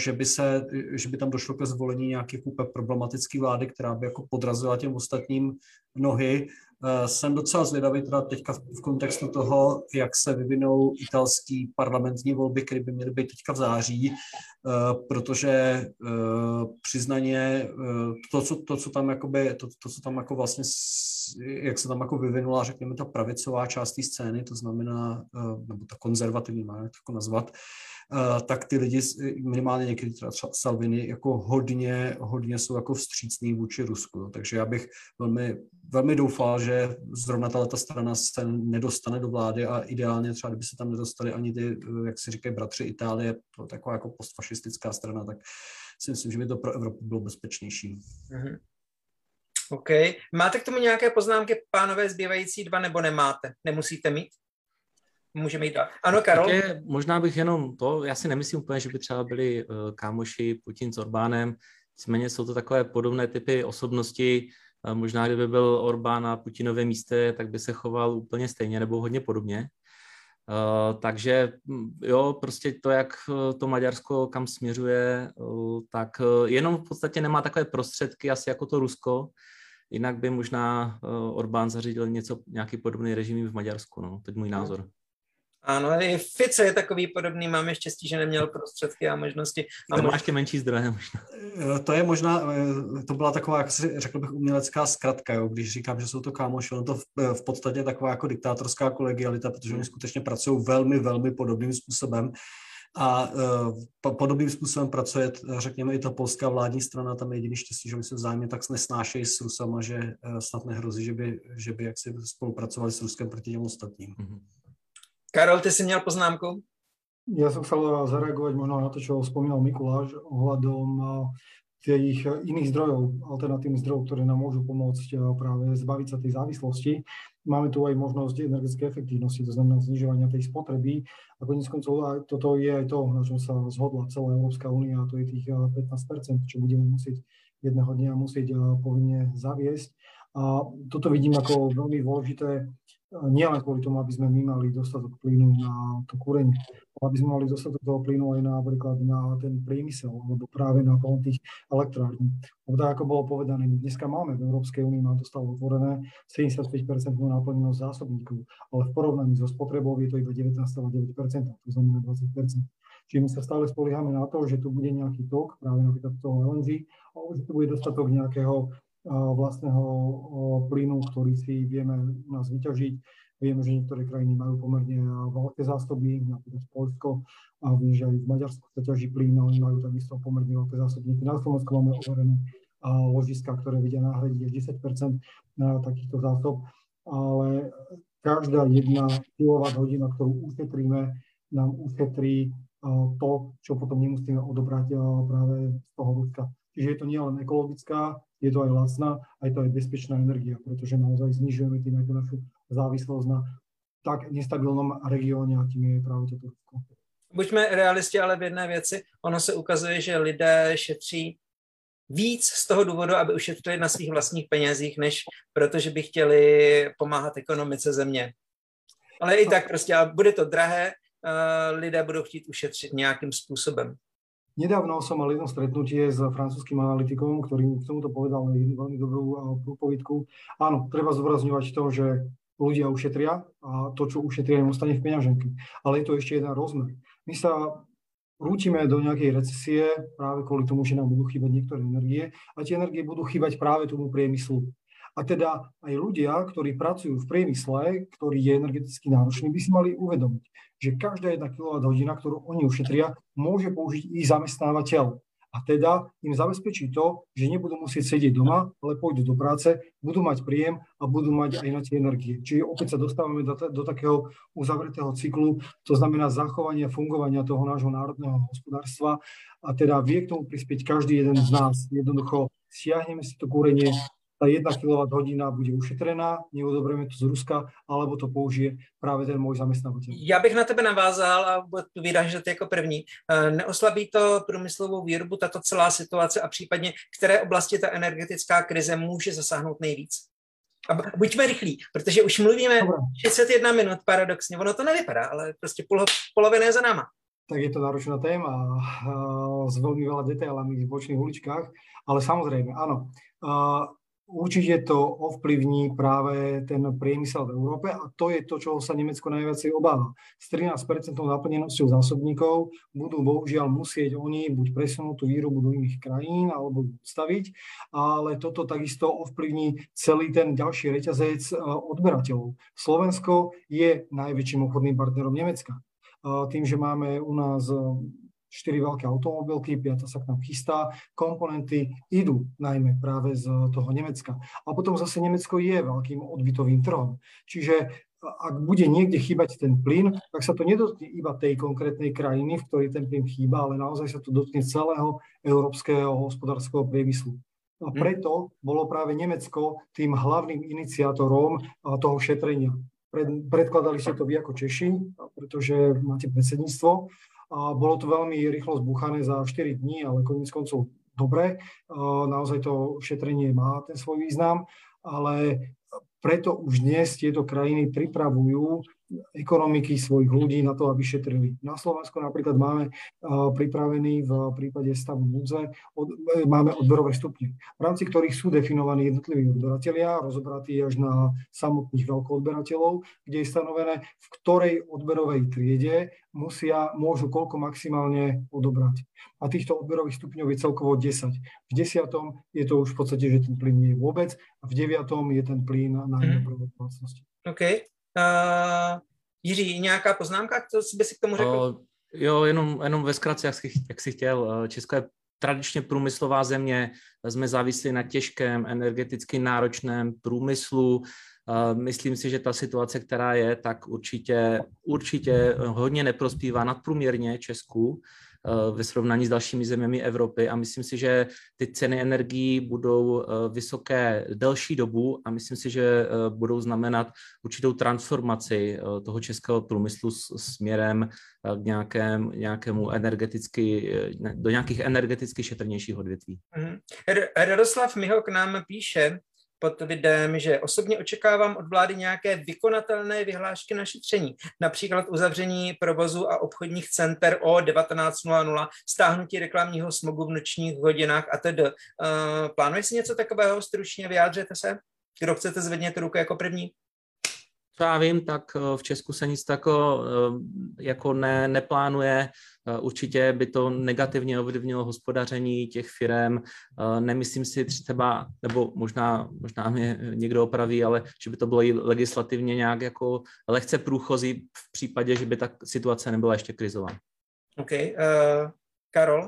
Speaker 4: že by tam došlo ke zvolení nějaké problematické vlády, která by jako podrazila těm ostatním nohy. Jsem docela zvědavý teda teďka v kontextu toho, jak se vyvinou italský parlamentní volby, které by měly být teďka v září, protože přiznaně to, co tam jako vlastně, jak se tam jako vyvinula, řekněme, ta pravicová část té scény, to znamená, nebo ta konzervativní, má jak to jako nazvat, tak ty lidi, minimálně někdy třeba Salvini, jako hodně jsou jako vstřícní vůči Rusku. No. Takže já bych velmi doufal, že zrovna tato strana se nedostane do vlády a ideálně třeba, kdyby se tam nedostali ani ty, jak si říkají, bratři Itálie, to taková jako postfašistická strana, tak si myslím, že by to pro Evropu bylo bezpečnější.
Speaker 1: Mm-hmm. OK. Máte k tomu nějaké poznámky, pánové, zbývající dva, nebo nemáte? Nemusíte mít? Můžeme jít dál. Ano, Karol?
Speaker 3: Také možná bych jenom to, já si nemyslím úplně, že by třeba byli kámoši Putin s Orbánem, nicméně jsou to takové podobné typy osobnosti. Možná kdyby byl Orbán na Putinově místě, tak by se choval úplně stejně nebo hodně podobně. Takže jo, prostě to, jak to Maďarsko kam směřuje, tak jenom v podstatě nemá takové prostředky asi jako to Rusko, jinak by možná Orbán zařídil nějaký podobný režim v Maďarsku, no, teď můj názor.
Speaker 1: Ano, i Fico je takový podobný, máme štěstí, že neměl prostředky a možnosti.
Speaker 3: A má ještě menší zdroje možná.
Speaker 4: To je možná, to byla taková, jak si řekl bych, umělecká zkratka, jo, když říkám, že jsou to kámoši, ono to v podstatě taková jako diktátorská kolegialita, protože oni skutečně pracují velmi, velmi podobným způsobem. A podobným způsobem pracuje, řekněme, i ta polská vládní strana, tam je jediný štěstí, že oni se vzájemně tak nesnášejí s Rusama, že snad nehrozí, že by jaksi spolupracovali s Ruskem proti těm ostatním.
Speaker 3: Mm-hmm.
Speaker 1: Karol, ty si měl poznámku?
Speaker 2: Ja som chcel zareagovať možno na to, čo spomínal Mikuláš ohľadom tých iných zdrojov, alternatívnych zdrojov, ktoré nám môžu pomôcť práve zbaviť sa tej závislosti. Máme tu aj možnosť energetickej efektívnosti, to znamená znižovania tej spotreby. A koniec koncov toto je aj to, na čom sa zhodla celá Európska únia, a to je tých 15%, čo budeme musieť jedného dňa povinne zaviesť. A toto vidím ako veľmi dôležité, nielen kvôli tomu, aby sme my mali dostatok plynu na to kúrenie, ale aby sme mali dostatok toho plynu aj napríklad na ten priemysel, alebo práve na pohon tých elektrární. Lebo tak, ako bolo povedané, dneska máme v Európskej únii, má to stále otvorené 75% naplnenosť zásobníkov, ale v porovnaní so spotrebou je to iba 19,9%, to znamená 20%. Čiže my sa stále spoliehame na to, že tu bude nejaký tok, práve napríklad toho LNG, alebo že tu bude dostatok nejakého vlastného plynu, ktorý si vieme u nás vyťažiť. Vieme, že niektoré krajiny majú pomerne veľké zásoby, napríklad Poľsko, a viem, že aj v Maďarsku sa ťaží plyn, ale majú takisto pomerne veľké zásobníky. Na Slovensku máme overené ložiska, ktoré vedia nahradiť až 10% takýchto zásob, ale každá jedna kilowatt-hodina, ktorú ušetríme, nám ušetrí to, čo potom nemusíme odobrať práve z toho Ruska. Čiže je to nielen ekologická je to aj lacná, aj to aj bezpečná energia, pretože naozaj znižujeme tým aj tú našu závislosť na tak nestabilnom regióne, a tím je práve toto Rusko.
Speaker 1: Buďme realisti, ale v jedné věci, ono se ukazuje, že lidé šetří víc z toho důvodu, aby ušetřili na svých vlastních penězích, než protože by chtěli pomáhat ekonomice země. Ale i tak prostě, a bude to drahé, lidé budou chtít ušetřit nějakým způsobem.
Speaker 2: Nedávno som mal jedno stretnutie s francúzským analytikom, ktorý k tomuto povedal veľmi dobrú prúpovidku. Áno, treba zdôrazňovať to, že ľudia ušetria a to, čo ušetria, im ostane v peňaženke. Ale je to ešte jeden rozmer. My sa rútime do nejakej recesie práve kvôli tomu, že nám budú chýbať niektoré energie a tie energie budú chýbať práve tomu priemyslu. A teda aj ľudia, ktorí pracujú v priemysle, ktorý je energeticky náročný, by si mali uvedomiť, že každá 1 kWh, ktorú oni ušetria, môže použiť ich zamestnávateľ. A teda im zabezpečí to, že nebudú musieť sedieť doma, ale pôjdu do práce, budú mať príjem a budú mať aj na tie energie. Čiže opäť sa dostávame do takého uzavretého cyklu, to znamená zachovania fungovania toho nášho národného hospodárstva a teda vie k tomu prispieť každý jeden z nás. Jednoducho siahneme si to kúrenie, tá 1 kWh bude ušetrená, neodoberieme to z Ruska, alebo to použije právě ten můj zaměstnavatel.
Speaker 1: Já bych na tebe navázal a odpovídáš, že ty jako první. Neoslabí to průmyslovou výrobu, tato celá situace a případně které oblasti ta energetická krize může zasáhnout nejvíc? A buďme rychlí, protože už mluvíme 61 minut paradoxně. Ono to nevypadá, ale prostě polovina je za náma.
Speaker 2: Tak je to náročná téma s veľmi veľa detailami v bočných uličkách, ale samozrejme, áno. Určite to ovplyvní práve ten priemysel v Európe a to je to, čoho sa Nemecko najviacej obáva. S 13% naplnenosťou zásobníkov budú bohužiaľ musieť oni buď presunúť tú výrobu do iných krajín alebo staviť, ale toto takisto ovplyvní celý ten ďalší reťazec odberateľov. Slovensko je najväčším obchodným partnerom Nemecka. Tým, že máme u nás 4 veľké automobilky, 5. sa k nám chystá, komponenty idú najmä práve z toho Nemecka. A potom zase Nemecko je veľkým odbytovým trhom. Čiže ak bude niekde chýbať ten plyn, tak sa to nedotkne iba tej konkrétnej krajiny, v ktorej ten plyn chýba, ale naozaj sa to dotkne celého európskeho hospodárskeho priemyslu. A preto bolo práve Nemecko tým hlavným iniciátorom toho šetrenia. Predkladali ste to vy ako Češi, pretože máte predsedníctvo. A bolo to veľmi rýchlo zbúchané za 4 dní, ale koniec koncov dobre. Naozaj to šetrenie má ten svoj význam, ale preto už dnes tieto krajiny pripravujú ekonomiky svojich ľudí na to, aby šetrili. Na Slovensku napríklad máme pripravený v prípade stavu núdze, máme odberové stupne, v rámci ktorých sú definovaní jednotliví odberatelia, rozobratí až na samotných veľkoodberateľov, kde je stanovené, v ktorej odberovej triede môžu koľko maximálne odobrať. A týchto odberových stupňov je celkovo 10. V 10. je to už v podstate, že ten plyn nie je vôbec a v 9. je ten plyn na domácnosti.
Speaker 1: OK. Jiří, nějaká poznámka, co by si k tomu řekl?
Speaker 3: Jo, jenom ve zkratce, jak jsi chtěl. Česko je tradičně průmyslová země, jsme závislí na těžkém, energeticky náročném průmyslu. Myslím si, že ta situace, která je, tak určitě hodně neprospívá nadprůměrně Česku ve srovnání s dalšími zeměmi Evropy a myslím si, že ty ceny energií budou vysoké delší dobu a myslím si, že budou znamenat určitou transformaci toho českého průmyslu směrem k nějakému do nějakých energeticky šetrnějších odvětví.
Speaker 1: Radoslav Miho k nám píše pod videem, že osobně očekávám od vlády nějaké vykonatelné vyhlášky na šetření, například uzavření provozu a obchodních center o 19:00, stáhnutí reklamního smogu v nočních hodinách atd. Plánuje si něco takového? Stručně vyjádřete se? Kdo chcete, zvedněte ruku jako první?
Speaker 3: Co já vím, tak v Česku se nic takového jako neplánuje. Určitě by to negativně ovlivnilo hospodaření těch firem. Nemyslím si třeba, nebo možná mě někdo opraví, ale že by to bylo legislativně nějak jako lehce průchozí v případě, že by ta situace nebyla ještě krizová.
Speaker 1: OK. Karol?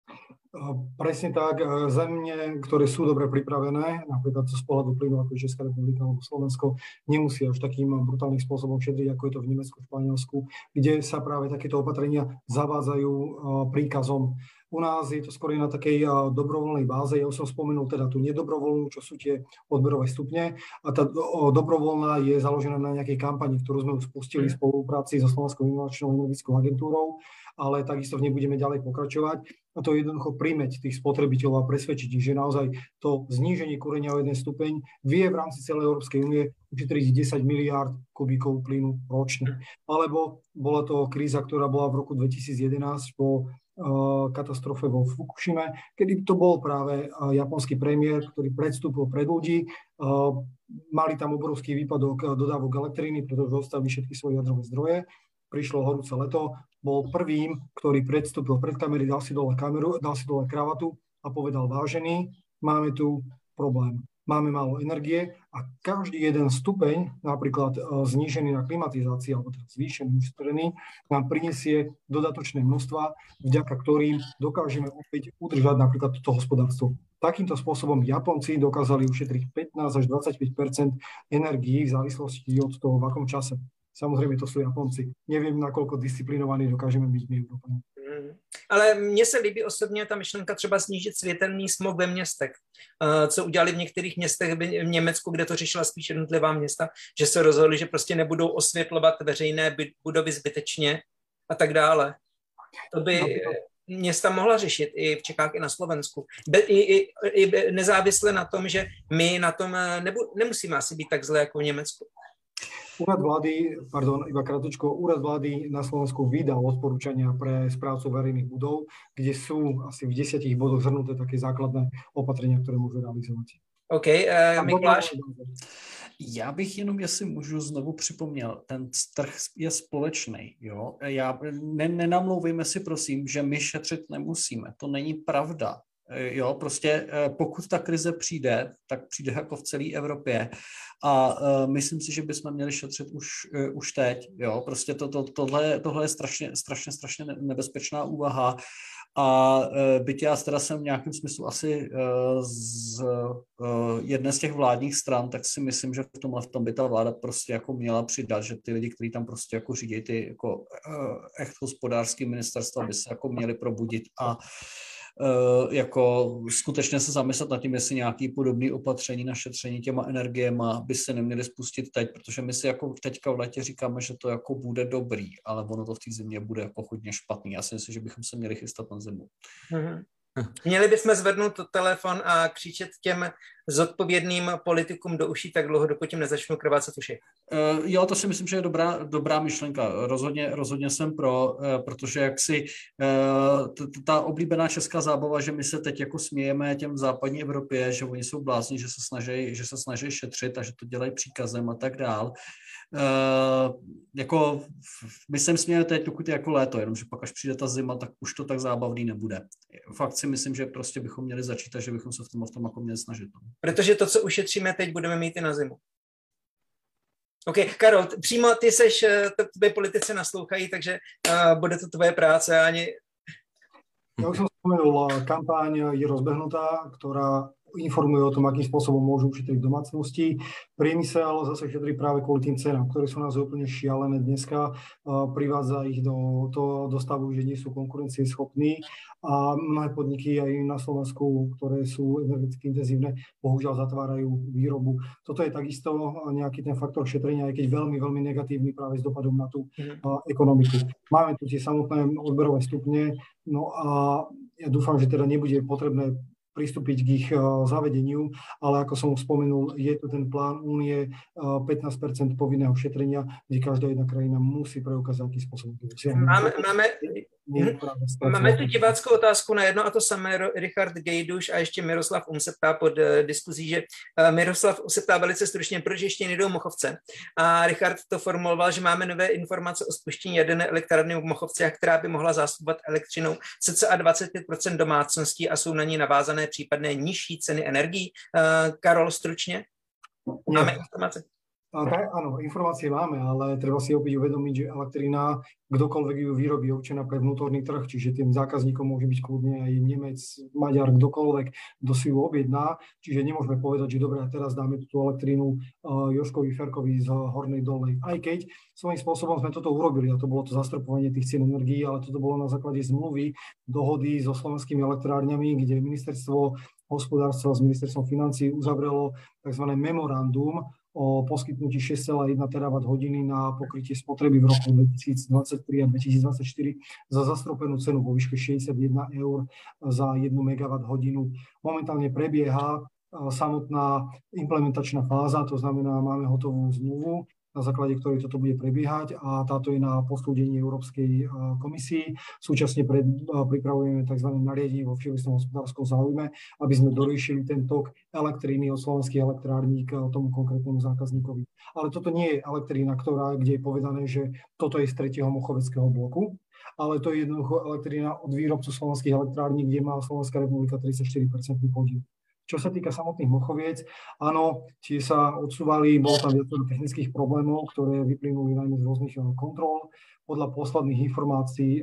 Speaker 2: Presne tak, zemne, ktoré sú dobre pripravené, napríklad z pohľadu plynu ako Česká republika alebo Slovensko, nemusí až takým brutálnym spôsobom šetriť, ako je to v Nemecku, v Španielsku, kde sa práve takéto opatrenia zavádzajú príkazom. U nás je to skôr na takej dobrovoľnej báze. Ja už som spomenul teda tú nedobrovoľnú, čo sú tie odberové stupne. A tá dobrovoľná je založená na nejakej kampani, ktorú sme spustili v spolupráci so Slovenskou inovačnou energetickou agentúrou, ale takisto v nej budeme ďalej pokračovať. A to je jednoducho primäť tých spotrebiteľov a presvedčiť ich, že naozaj to zníženie kúrenia o 1 stupeň vie v rámci celej Európskej únie ušetriť 10 miliárd kubíkov plynu ročne. Alebo bola to kríza, ktorá bola v roku 2011 po katastrofe vo Fukushime, kedy to bol práve japonský premiér, ktorý predstúpil pred ľudí. Mali tam obrovský výpadok dodávok elektriny, pretože dostali všetky svoje jadrové zdroje. Prišlo horúce leto, bol prvým, ktorý predstúpil pred kamery, dal si dole kravatu a povedal: vážený, máme tu problém. Máme málo energie a každý jeden stupeň, napríklad znížený na klimatizácii alebo teda zvýšený, ušetrený, nám prinesie dodatočné množstva, vďaka ktorým dokážeme opäť udržať napríklad toto hospodárstvo. Takýmto spôsobom Japonci dokázali ušetriť 15 až 25% energií v závislosti od toho, v akom čase. Samozrejme, to sú Japonci. Neviem, nakoľko disciplinovaní dokážeme byť my Európani.
Speaker 1: Ale mně se líbí osobně ta myšlenka třeba snížit světelný smog ve městech, co udělali v některých městech v Německu, kde to řešila spíš jednotlivá města, že se rozhodli, že prostě nebudou osvětlovat veřejné budovy zbytečně a tak dále. To by města mohla řešit i v Čechách, i na Slovensku. I nezávisle na tom, že my na tom nemusíme asi být tak zle jako v Německu.
Speaker 2: Úrad vlády na Slovensku vydal odporúčania pre správcov verejných budov, kde sú asi v 10 bodoch zhrnuté také základné opatrenia, ktoré môžu realizovať.
Speaker 1: OK, Mikuláš?
Speaker 4: Já bych jenom, jestli můžu znovu připomněl, ten trh je společný. Jo? Nenamlouvejme si prosím, že my šetřit nemusíme. To není pravda. Jo, prostě pokud ta krize přijde, tak přijde jako v celé Evropě a myslím si, že bychom měli šetřit už teď. Jo, prostě tohle je strašně nebezpečná úvaha a byť já teda jsem v nějakém smyslu asi z jedné z těch vládních stran, tak si myslím, že v tom by ta vláda prostě jako měla přidat, že ty lidi, kteří tam prostě jako řídí ty jako echt hospodářský ministerstva, by se jako měli probudit a jako skutečně se zamyslet nad tím, jestli nějaký podobný opatření na šetření těma energiema by se neměly spustit teď, protože my si jako teďka v létě říkáme, že to jako bude dobrý, ale ono to v té zimě bude jako hodně špatný. Já si myslím, že bychom se měli chystat na zimu.
Speaker 1: Mm-hmm. Měli bychom zvednout telefon a křičet těm zodpovědným politikům do uší tak dlouho, dokud jim nezačnou krvácet uši.
Speaker 4: Jo, to si myslím, že je dobrá myšlenka. Rozhodně jsem pro, protože jaksi ta oblíbená česká zábava, že my se teď jako smějeme těm v západní Evropě, že oni jsou blázni, že se snaží šetřit a že to dělají příkazem a tak dál. Jako my se smějeme teď, dokud je jako léto, jenomže pak až přijde ta zima, tak už to tak zábavný nebude. Fakt si myslím, že prostě bychom měli začít a že bychom se v tom jako měli snažit.
Speaker 1: Protože to, co ušetříme teď, budeme mít i na zimu. OK, Karol, přímo ty seš, tvoje politici naslouchají, takže bude to tvoje práce ani...
Speaker 2: Ja už som spomenul, kampaň je rozbehnutá, ktorá informuje o tom, akým spôsobom môžu ušetriť domácnosti. Priemysel zase šetrí práve kvôli tým cenám, ktoré sú nás úplne šialené dneska. Privádza ich do stavu, že nie sú konkurencieschopní a mnohé podniky aj na Slovensku, ktoré sú energeticky intenzívne, bohužiaľ zatvárajú výrobu. Toto je takisto nejaký ten faktor šetrenia, aj keď veľmi, veľmi negatívny práve s dopadom na tú ekonomiku. Máme tu tie samotné odberové stupne, no a ja dúfam, že teda nebude potrebné pristúpiť k ich zavedeniu, ale ako som spomenul, je tu ten plán únie 15% povinného šetrenia, kde každá jedna krajina musí preukázať, aký spôsob.
Speaker 1: Máme tu diváckou otázku na jedno a to samé, Richard Gejduš a ještě Miroslav se ptá pod diskuzí, že Miroslav se ptá velice stručně, proč ještě nejdou Mochovce. A Richard to formuloval, že máme nové informace o spuštění jaderné elektrárny v Mochovcech, která by mohla zásobovat elektřinou cca 25% domácností a jsou na ní navázané případné nižší ceny energií. Karol, stručně? Máme informace?
Speaker 2: Áno, informácie máme, ale treba si opäť uvedomiť, že elektrina, kdokoľvek ju vyrobí, je určená pre vnútorný trh, čiže tým zákazníkom môže byť kľudne aj Nemec, Maďar, kdokoľvek, kto si ju objedná. Čiže nemôžeme povedať, že dobre, a teraz dáme tú elektrínu Jožkovi Ferkovi z Hornej Dolnej. Aj keď svojím spôsobom sme toto urobili, a to bolo to zastropovanie tých cien energií, ale toto bolo na základe zmluvy, dohody so slovenskými elektrárňami, kde ministerstvo hospodárstva s ministerstvom financií uzavrelo tzv. Memorandum o poskytnutí 6,1 terawatt-hodiny na pokrytie spotreby v roku 2023 a 2024 za zastropenú cenu vo výške 61 eur za 1 megawatt-hodinu. Momentálne prebieha samotná implementačná fáza, to znamená, máme hotovú zmluvu, na základe ktorej toto bude prebiehať a táto je na posúdení Európskej komisii. Súčasne pripravujeme tzv. Nariadenie vo všeobecnom hospodárskom záujme, aby sme doriešili ten tok elektriny od slovenských elektrární k tomu konkrétnemu zákazníkovi. Ale toto nie je elektrína, kde je povedané, že toto je z 3. Mochoveckého bloku, ale to je jednoducho elektrína od výrobcu slovenských elektrární, kde má Slovenská republika 34% podiel. Čo sa týka samotných Mochoviec, áno, tie sa odsúvali, bolo tam viacero technických problémov, ktoré vyplynuli najmä z rôznych kontrol. Podľa posledných informácií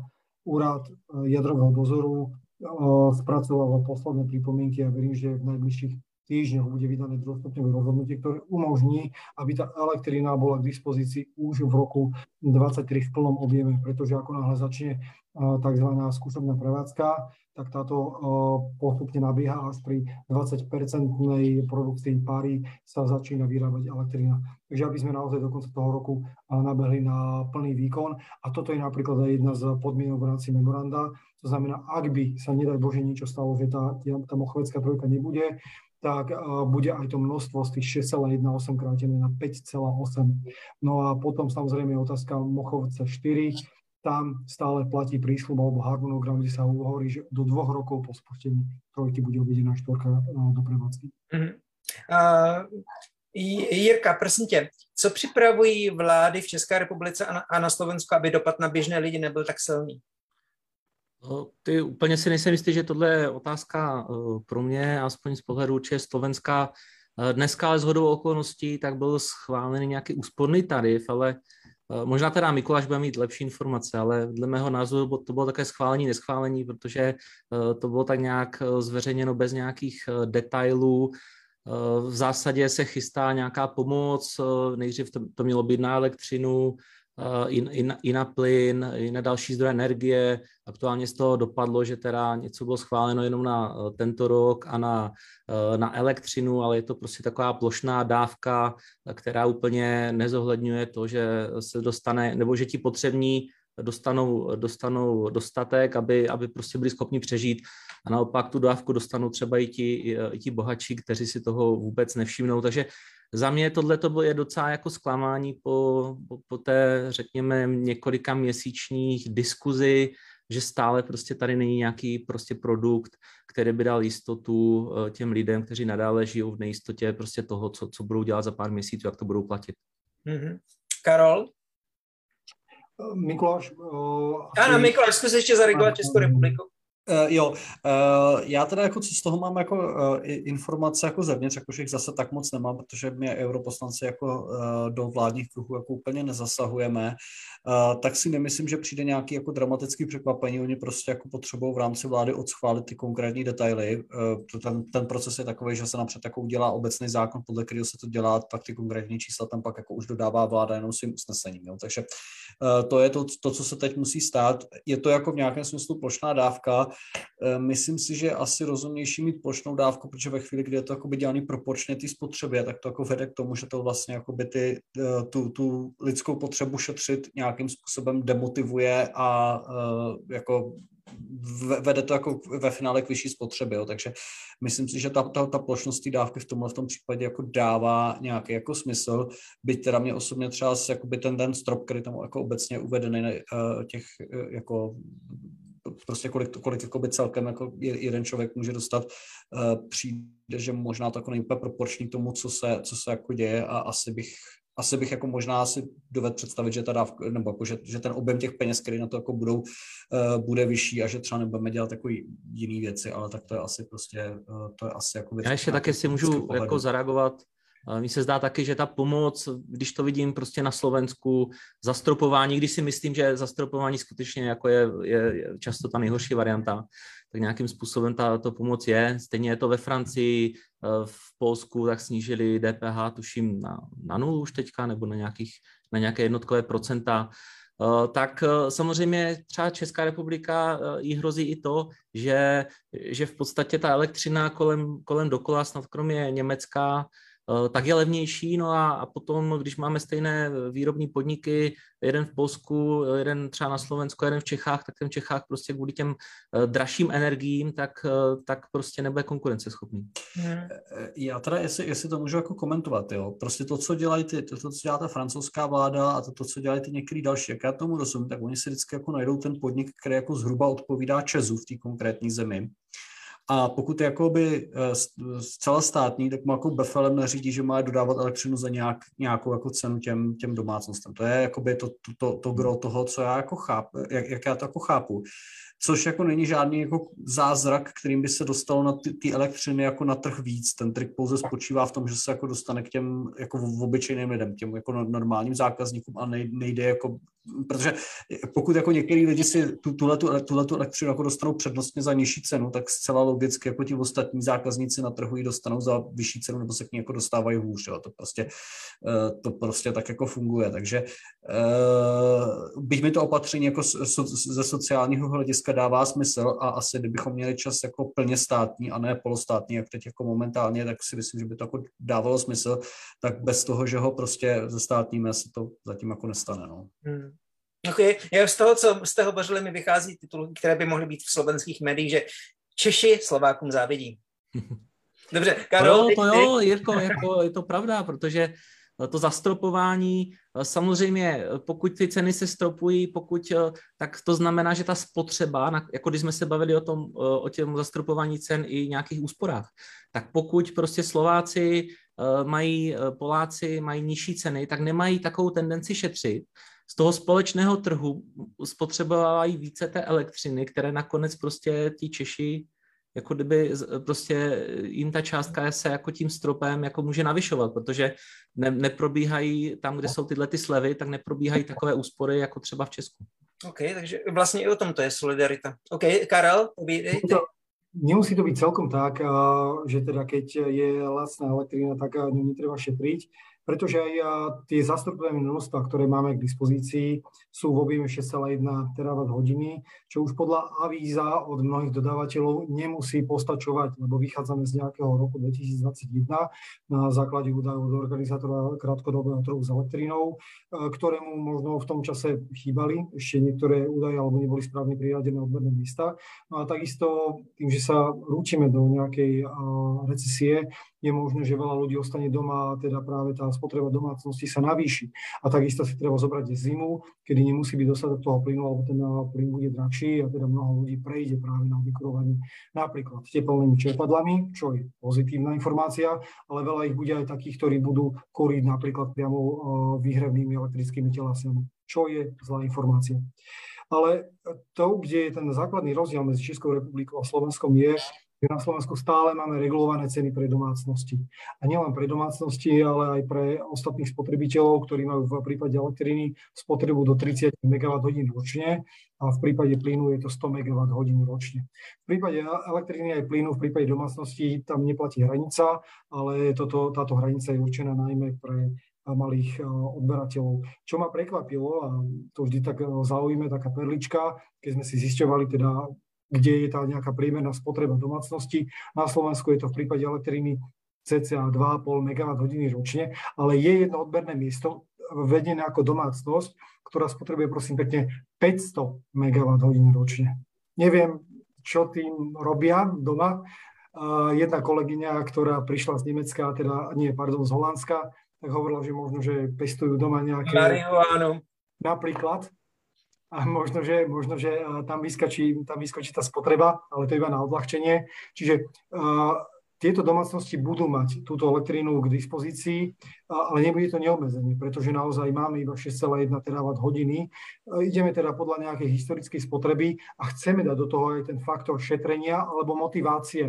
Speaker 2: úrad jadrového dozoru spracoval posledné pripomienky a verím, že v najbližších týždňoch bude vydané druhostupňové rozhodnutie, ktoré umožní, aby tá elektrina bola k dispozícii už v roku 2023 v plnom objeme, pretože ako náhle začne tzv. Skúšobná prevádzka, tak táto postupne nabieha až pri 20% produkcii páry sa začína vyrábať elektrina. Takže aby sme naozaj do konca toho roku nabehli na plný výkon. A toto je napríklad aj jedna z podmienok v rámci memoranda. To znamená, ak by sa nedaj Bože niečo stalo, že tá Mochovecká trojka nebude, tak bude aj to množstvo z tých 6,18 krátené na 5,8. No a potom samozrejme otázka Mochovce 4. Tam stále platí prísľub alebo harmonogram, kde sa hovorí, že do 2 rokov po spustení trojky bude objedená 4 do prevádzky.
Speaker 1: Jirka, prosím tě, co připravují vlády v České republice a na Slovensku, aby dopad na běžné lidi nebyl tak silný?
Speaker 3: Ty úplně si nejsem jistý, že tohle je otázka pro mě, aspoň z pohledu určitě Slovenska. Dneska ale shodou okolností tak byl schválený nějaký úsporný tarif, ale možná teda Mikuláš bude mít lepší informace, ale dle mého názoru to bylo také schválení, neschválení, protože to bylo tak nějak zveřejněno bez nějakých detailů. V zásadě se chystá nějaká pomoc, nejdřív to mělo být na elektřinu, i na plyn, i na další zdroje energie. Aktuálně z toho dopadlo, že teda něco bylo schváleno jenom na tento rok a na elektřinu, ale je to prostě taková plošná dávka, která úplně nezohledňuje to, že se dostane, nebo že ti potřební dostanou dostatek, aby prostě byli schopni přežít. A naopak tu dávku dostanou třeba i ti bohatší, kteří si toho vůbec nevšimnou. Takže za mě tohle je docela jako zklamání po té, řekněme, několika měsíčních diskuzi, že stále prostě tady není nějaký prostě produkt, který by dal jistotu těm lidem, kteří nadále žijou v nejistotě prostě toho, co budou dělat za pár měsíců, jak to budou platit.
Speaker 1: Mm-hmm. Karol?
Speaker 2: Mikuláš?
Speaker 1: Ano, Mikuláš, zkus ještě zaregulovat Českou republiku.
Speaker 4: Já teda jako co z toho mám jako informace jako zevnitř, jakože jich zase tak moc nemám, protože my europoslanci jako do vládních kruhů jako úplně nezasahujeme, tak si nemyslím, že přijde nějaký jako dramatický překvapení, oni prostě jako potřebují v rámci vlády odschválit ty konkrétní detaily, ten proces je takový, že se napřed jako udělá obecný zákon, podle kterého se to dělá, pak ty konkrétní čísla tam pak jako už dodává vláda jenom svým usnesením, jo? Takže to je to, co se teď musí stát, je to jako v nějakém smyslu plošná dávka. Myslím si, že je asi rozumnější mít plošnou dávku, protože ve chvíli, kdy je to jakoby dělaný proporčně té spotřebě, tak to jako vede k tomu, že to vlastně jakoby tu lidskou potřebu šetřit nějakým způsobem demotivuje a jako vede to jako ve finále k vyšší spotřebě. Jo. Takže myslím si, že ta plošnost té dávky v tom případě jako dává nějaký jako smysl, byť teda mě osobně třeba jakoby ten strop, který tam jako obecně uvedený těch jako prostě kolik jakoby celkem jako jeden člověk může dostat, přijde, že možná to jako není úplně proporční k tomu, co se jako děje a asi bych jako možná si dovedl představit, že ta dávka, nebo jako, že ten objem těch peněz, který na to jako bude vyšší a že třeba nebudeme dělat takový jiný věci, ale tak to je asi prostě, to je asi jako věc.
Speaker 3: Já ještě také si můžu jako zareagovat. Mně se zdá taky, že ta pomoc, když to vidím prostě na Slovensku, zastropování, když si myslím, že zastropování skutečně jako je často ta nejhorší varianta, tak nějakým způsobem to pomoc je. Stejně je to ve Francii, v Polsku, tak snížili DPH, tuším, na 0 už teďka, nebo na nějaké jednotkové procenta. Tak samozřejmě třeba Česká republika jí hrozí i to, že v podstatě ta elektřina kolem dokola, snad kromě Německa, tak je levnější, no a potom, když máme stejné výrobní podniky, jeden v Polsku, jeden třeba na Slovensku, jeden v Čechách, tak ten v Čechách prostě kvůli těm dražším energiím, tak prostě nebude konkurenceschopný.
Speaker 4: Já teda, jestli to můžu jako komentovat, jo, prostě to, co dělají to, co dělá ta francouzská vláda a to, co dělají ty některý další, jak já tomu rozumím, tak oni si vždycky jako najdou ten podnik, který jako zhruba odpovídá ČEZu v té konkrétní zemi. A pokud je jakoby zcela státní, tak mu jako BFLM nařídí, že má dodávat elektřinu za nějakou jako cenu těm domácnostem. To je jakoby to gro toho, co já jako chápu, jak já to jako chápu. Což jako není žádný jako zázrak, kterým by se dostalo na ty elektřiny jako na trh víc. Ten trik pouze spočívá v tom, že se jako dostane k těm jako obyčejným lidem, těm jako normálním zákazníkům a nejde jako, protože pokud jako některý lidi si tuhletu elektřinu jako dostanou přednostně za nižší cenu, tak zcela logicky jako ti ostatní zákazníci na trhu ji dostanou za vyšší cenu nebo se k ní jako dostávají hůř. Jo. To prostě tak jako funguje. Takže byť mi to opatření jako ze sociálního hlediska dává smysl a asi kdybychom měli čas jako plně státní a ne polostátní, jak teď jako momentálně, tak si myslím, že by to jako dávalo smysl, tak bez toho, že ho prostě zestátníme, se to zatím jako nestane. No.
Speaker 1: Okay. Já z toho, co jste hovořili, mi vychází titulky, které by mohly být v slovenských médiích, že Češi Slovákům závidí. Dobře, Karol.
Speaker 3: To jo, Jirko, jako je to pravda, protože to zastropování, samozřejmě pokud ty ceny se stropují, tak to znamená, že ta spotřeba, jako když jsme se bavili o těm zastropování cen i nějakých úsporách, tak pokud prostě Slováci Poláci mají nižší ceny, tak nemají takovou tendenci šetřit. Z toho společného trhu spotřebovávají více té elektřiny, které nakonec prostě ti Češi, jako kdyby prostě jim ta částka se jako tím stropem jako může navyšovat, protože neprobíhají tam, kde jsou tyhle ty slevy, tak neprobíhají takové úspory jako třeba v Česku.
Speaker 1: OK, takže vlastně i o tom to je solidarita. OK, Karel, povídej.
Speaker 2: Nemusí to byť celkom tak, že teda keď je lacná elektrina, tak ňu netreba šetriť, pretože aj tie zastropované množstva, ktoré máme k dispozícii, sú v objeme 6,1 TWh, čo už podľa avíza od mnohých dodávateľov nemusí postačovať, lebo vychádzame z nejakého roku 2021 na základe údajov od organizátora krátkodobého trhu s elektrínou, ktorému možno v tom čase chýbali ešte niektoré údaje alebo neboli správne priradené odberné miesta. No a takisto tým, že sa rúčime do nejakej recesie, je možné, že veľa ľudí ostane doma a teda práve tá spotreba domácnosti sa navýši. A takisto si treba zobrať zimu, kedy nemusí byť dostatok toho plynu, alebo ten plyn bude drahší a teda mnoho ľudí prejde práve na vykurovanie napríklad teplnými čerpadlami, čo je pozitívna informácia, ale veľa ich bude aj takých, ktorí budú kúriť napríklad priamo výhrevnými elektrickými telesami, čo je zlá informácia. Ale to, kde je ten základný rozdiel medzi Českou republikou a Slovenskom je, že na Slovensku stále máme regulované ceny pre domácnosti. A nielen pre domácnosti, ale aj pre ostatných spotrebiteľov, ktorí majú v prípade elektriny spotrebu do 30 MWh ročne a v prípade plynu je to 100 MWh ročne. V prípade elektriny aj plynu, v prípade domácnosti tam neplatí hranica, ale táto hranica je určená najmä pre malých odberateľov. Čo ma prekvapilo, a to vždy tak zaujíma taká perlička, keď sme si zisťovali teda, kde je tá nejaká priemerná spotreba domácnosti. Na Slovensku je to v prípade elektriny cca 2,5 MWh ročne, ale je jedno odberné miesto vedené ako domácnosť, ktorá spotrebuje prosím pekne 500 MWh ročne. Neviem, čo tým robia doma. Jedna kolegyňa, ktorá prišla z Nemecka, z Holandska, tak hovorila, že možno, že pestujú doma nejaké...
Speaker 1: Marihuánu.
Speaker 2: Napríklad. A možno, že tam vyskočí tá spotreba, ale to iba na odľahčenie. Čiže tieto domácnosti budú mať túto elektrínu k dispozícii, ale nebude to neobmedzenie, pretože naozaj máme iba 6,1 TWh. Ideme teda podľa nejakej historickej spotreby a chceme dať do toho aj ten faktor šetrenia alebo motivácie.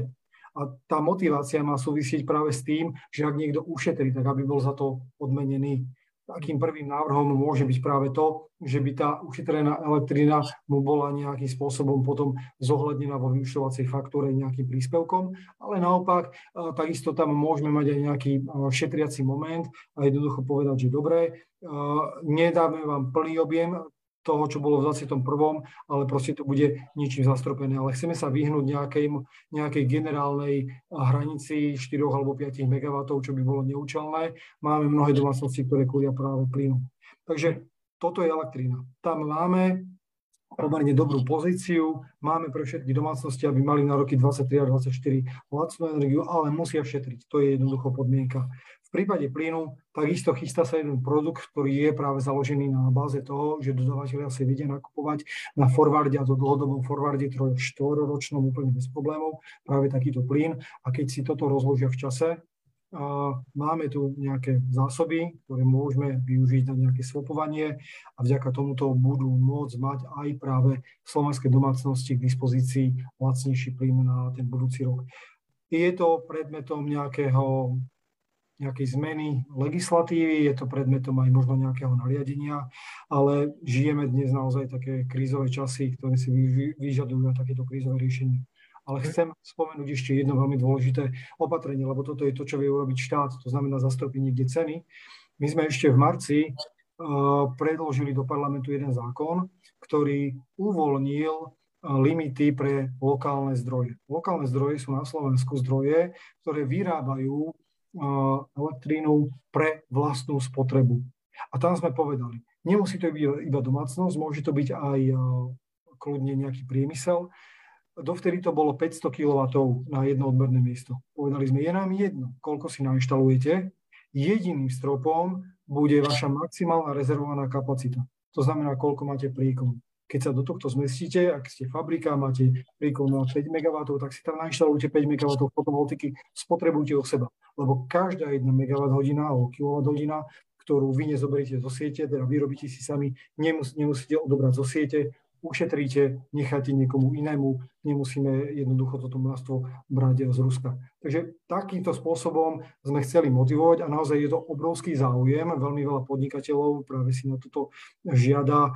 Speaker 2: A tá motivácia má súvisieť práve s tým, že ak niekto ušetrí, tak aby bol za to odmenený. Takým prvým návrhom môže byť práve to, že by tá ušetrená elektrina mu bola nejakým spôsobom potom zohľadnená vo vyúčtovacej faktúre nejakým príspevkom, ale naopak takisto tam môžeme mať aj nejaký šetriaci moment a jednoducho povedať, že dobre, nedáme vám plný objem toho, čo bolo v 21., ale proste to bude ničím zastropené. Ale chceme sa vyhnúť nejakej generálnej hranici 4 alebo 5 MW, čo by bolo neúčelné. Máme mnohé domácnosti, ktoré kúria práve plynu. Takže toto je elektrina. Tam máme pomerne dobrú pozíciu, máme pre všetky domácnosti, aby mali na roky 23 a 24 lacnú energiu, ale musia šetriť. To je jednoducho podmienka. V prípade plynu takisto chystá sa jeden produkt, ktorý je práve založený na báze toho, že dodavateľia si vedia nakupovať na forwarde, a to dlhodobom forwarde 3-4-ročnom úplne bez problémov, práve takýto plyn. A keď si toto rozložia v čase, máme tu nejaké zásoby, ktoré môžeme využiť na nejaké swapovanie a vďaka tomuto budú môcť mať aj práve slovenské domácnosti k dispozícii lacnejší plyn na ten budúci rok. Je to predmetom nejakej zmeny legislatívy, je to predmetom aj možno nejakého nariadenia, ale žijeme dnes naozaj také krízové časy, ktoré si vyžadujú takéto krízové riešenie. Ale chcem spomenúť ešte jedno veľmi dôležité opatrenie, lebo toto je to, čo vie urobiť štát, to znamená zastropiť niekde ceny. My sme ešte v marci predložili do parlamentu jeden zákon, ktorý uvoľnil limity pre lokálne zdroje. Lokálne zdroje sú na Slovensku zdroje, ktoré vyrábajú elektrínu pre vlastnú spotrebu. A tam sme povedali, nemusí to byť iba domácnosť, môže to byť aj kľudne nejaký priemysel. Dovtedy to bolo 500 kW na jedno odberné miesto. Povedali sme, je nám jedno, koľko si nainštalujete, jediným stropom bude vaša maximálna rezervovaná kapacita. To znamená, koľko máte príkon. Keď sa do tohto zmestíte, ak ste fabrika, máte príkon na 5 MW, tak si tam nainštalujte 5 MW fotovoltiky, spotrebujte o seba. Lebo každá 1 MWh alebo kWh, ktorú vy nezoberiete zo siete, teda vyrobíte si sami, nemusíte odobrať zo siete, ušetríte, necháte niekomu inému, nemusíme jednoducho toto množstvo brať z Ruska. Takže takýmto spôsobom sme chceli motivovať a naozaj je to obrovský záujem. Veľmi veľa podnikateľov práve si na toto žiada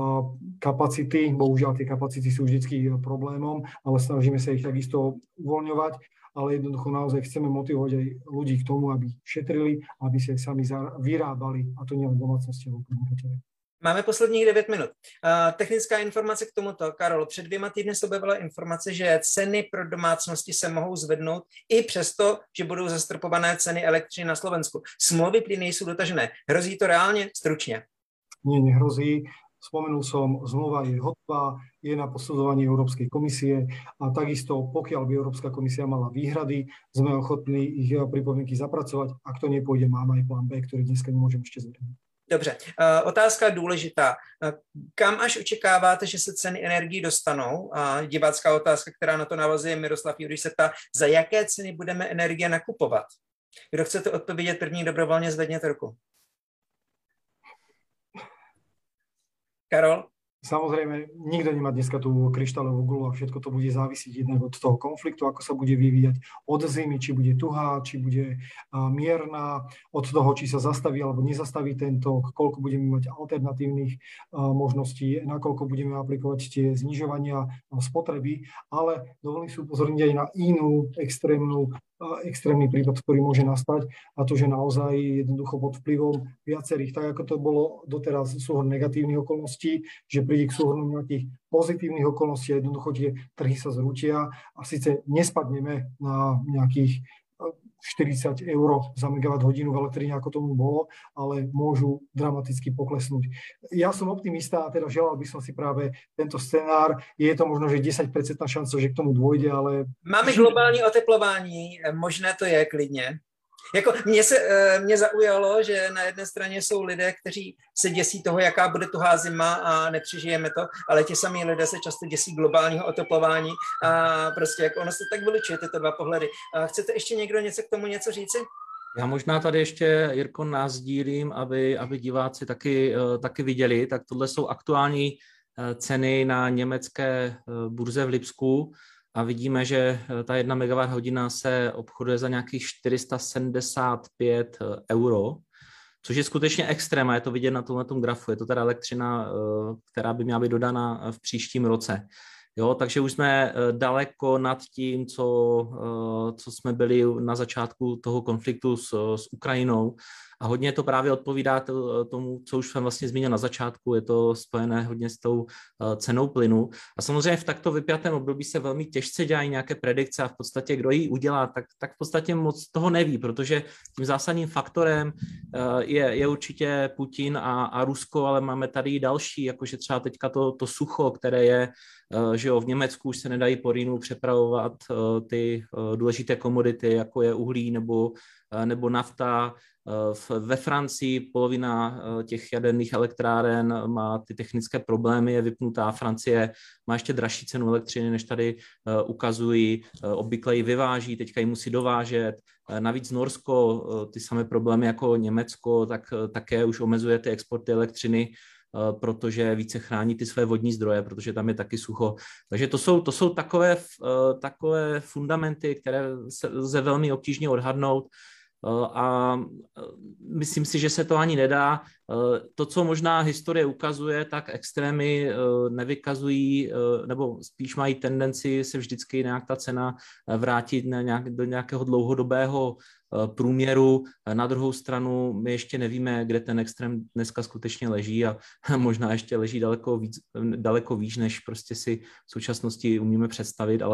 Speaker 2: kapacity. Bohužiaľ, tie kapacity sú vždycky problémom, ale snažíme sa ich takisto uvoľňovať. Ale jednoducho naozaj chceme motivovať aj ľudí k tomu, aby šetrili, aby sa sami vyrábali, a to nielen domácnosti, ale podnikateľe.
Speaker 1: Máme posledních 9 minut. Technická informace k tomuto. Karol, před 2 týdny se objevila informace, že ceny pro domácnosti se mohou zvednout i přesto, že budou zastropované ceny elektřiny na Slovensku. Smlouvy plyny jsou dotažené. Hrozí to reálně? Stručně.
Speaker 2: Nie, nehrozí. Spomenul som, zmluva je hotová, je na posudzovaní Európskej komisie a takisto, pokiaľ by Európska komisia mala výhrady, sme ochotní ich pripomienky zapracovať. Ak to nepôjde, máme aj plán B, ktorý dneska nemôžem ešte zverejniť.
Speaker 1: Dobře, otázka důležitá. Kam až očekáváte, že se ceny energií dostanou? Divácká otázka, která na to navazuje, Miroslav Juriš se ptá, za jaké ceny budeme energie nakupovat? Kdo chcete odpovědět první, dobrovolně zvedněte ruku. Karol?
Speaker 2: Samozrejme, nikto nemá dneska tú kryštáľovú guľu a všetko to bude závisiť jednak od toho konfliktu, ako sa bude vyvíjať od zimy, či bude tuhá, či bude mierna, od toho, či sa zastaví alebo nezastaví ten tok, koľko budeme mať alternatívnych možností, nakoľko budeme aplikovať tie znižovania spotreby, ale dovolím si upozorniť aj na inú extrémny prípad, ktorý môže nastať, a to, že naozaj jednoducho pod vplyvom viacerých, tak ako to bolo doteraz, súhrn negatívnych okolností, že príde k súhrnu nejakých pozitívnych okolností a jednoducho tie trhy sa zrútia a síce nespadneme na nejakých 40 eur za megawatt hodinu v elektrine, ako tomu bolo, ale môžu dramaticky poklesnúť. Ja som optimista a teda želal by som si práve tento scenár. Je to možno, že 10% šanca, že k tomu dôjde, ale...
Speaker 1: Máme globální oteplování, možné to je klidně. Jako mě zaujalo, že na jedné straně jsou lidé, kteří se děsí toho, jaká bude tuhá zima a nepřežijeme to, ale ti samí lidé se často děsí globálního oteplování a prostě jako ono se tak vylučuje tyto dva pohledy. Chcete ještě někdo k tomu něco říci?
Speaker 3: Já možná tady ještě, Jirko, nasdílím, aby diváci taky viděli, tak tohle jsou aktuální ceny na německé burze v Lipsku. a vidíme, že ta 1 MWh se obchoduje za nějakých 475 euro, což je skutečně extrém a je to vidět na tomhletom grafu. Je to teda elektřina, která by měla být dodána v příštím roce. Jo, takže už jsme daleko nad tím, co jsme byli na začátku toho konfliktu s Ukrajinou. A hodně to právě odpovídá tomu, co už jsem vlastně zmínil na začátku, je to spojené hodně s tou cenou plynu. A samozřejmě v takto vypjatém období se velmi těžce dělají nějaké predikce a v podstatě kdo ji udělá, tak v podstatě moc toho neví, protože tím zásadním faktorem je určitě Putin a Rusko, ale máme tady i další, jakože třeba teďka to sucho, které je, že jo, v Německu už se nedají po Rýnu přepravovat ty důležité komodity, jako je uhlí nebo nafta. Ve Francii polovina těch jaderných elektráren má ty technické problémy, je vypnutá. Francie má ještě dražší cenu elektřiny, než tady ukazují. Obvykle ji vyváží, teďka ji musí dovážet. Navíc Norsko, ty samé problémy jako Německo, tak také už omezuje ty exporty elektřiny, protože více chrání ty své vodní zdroje, protože tam je taky sucho. Takže to jsou takové fundamenty, které se lze velmi obtížně odhadnout. A myslím si, že se to ani nedá. To, co možná historie ukazuje, tak extrémy nevykazují, nebo spíš mají tendenci se vždycky nějak ta cena vrátit do nějakého dlouhodobého průměru. Na druhou stranu my ještě nevíme, kde ten extrém dneska skutečně leží a možná ještě leží daleko výš, než prostě si v současnosti umíme představit,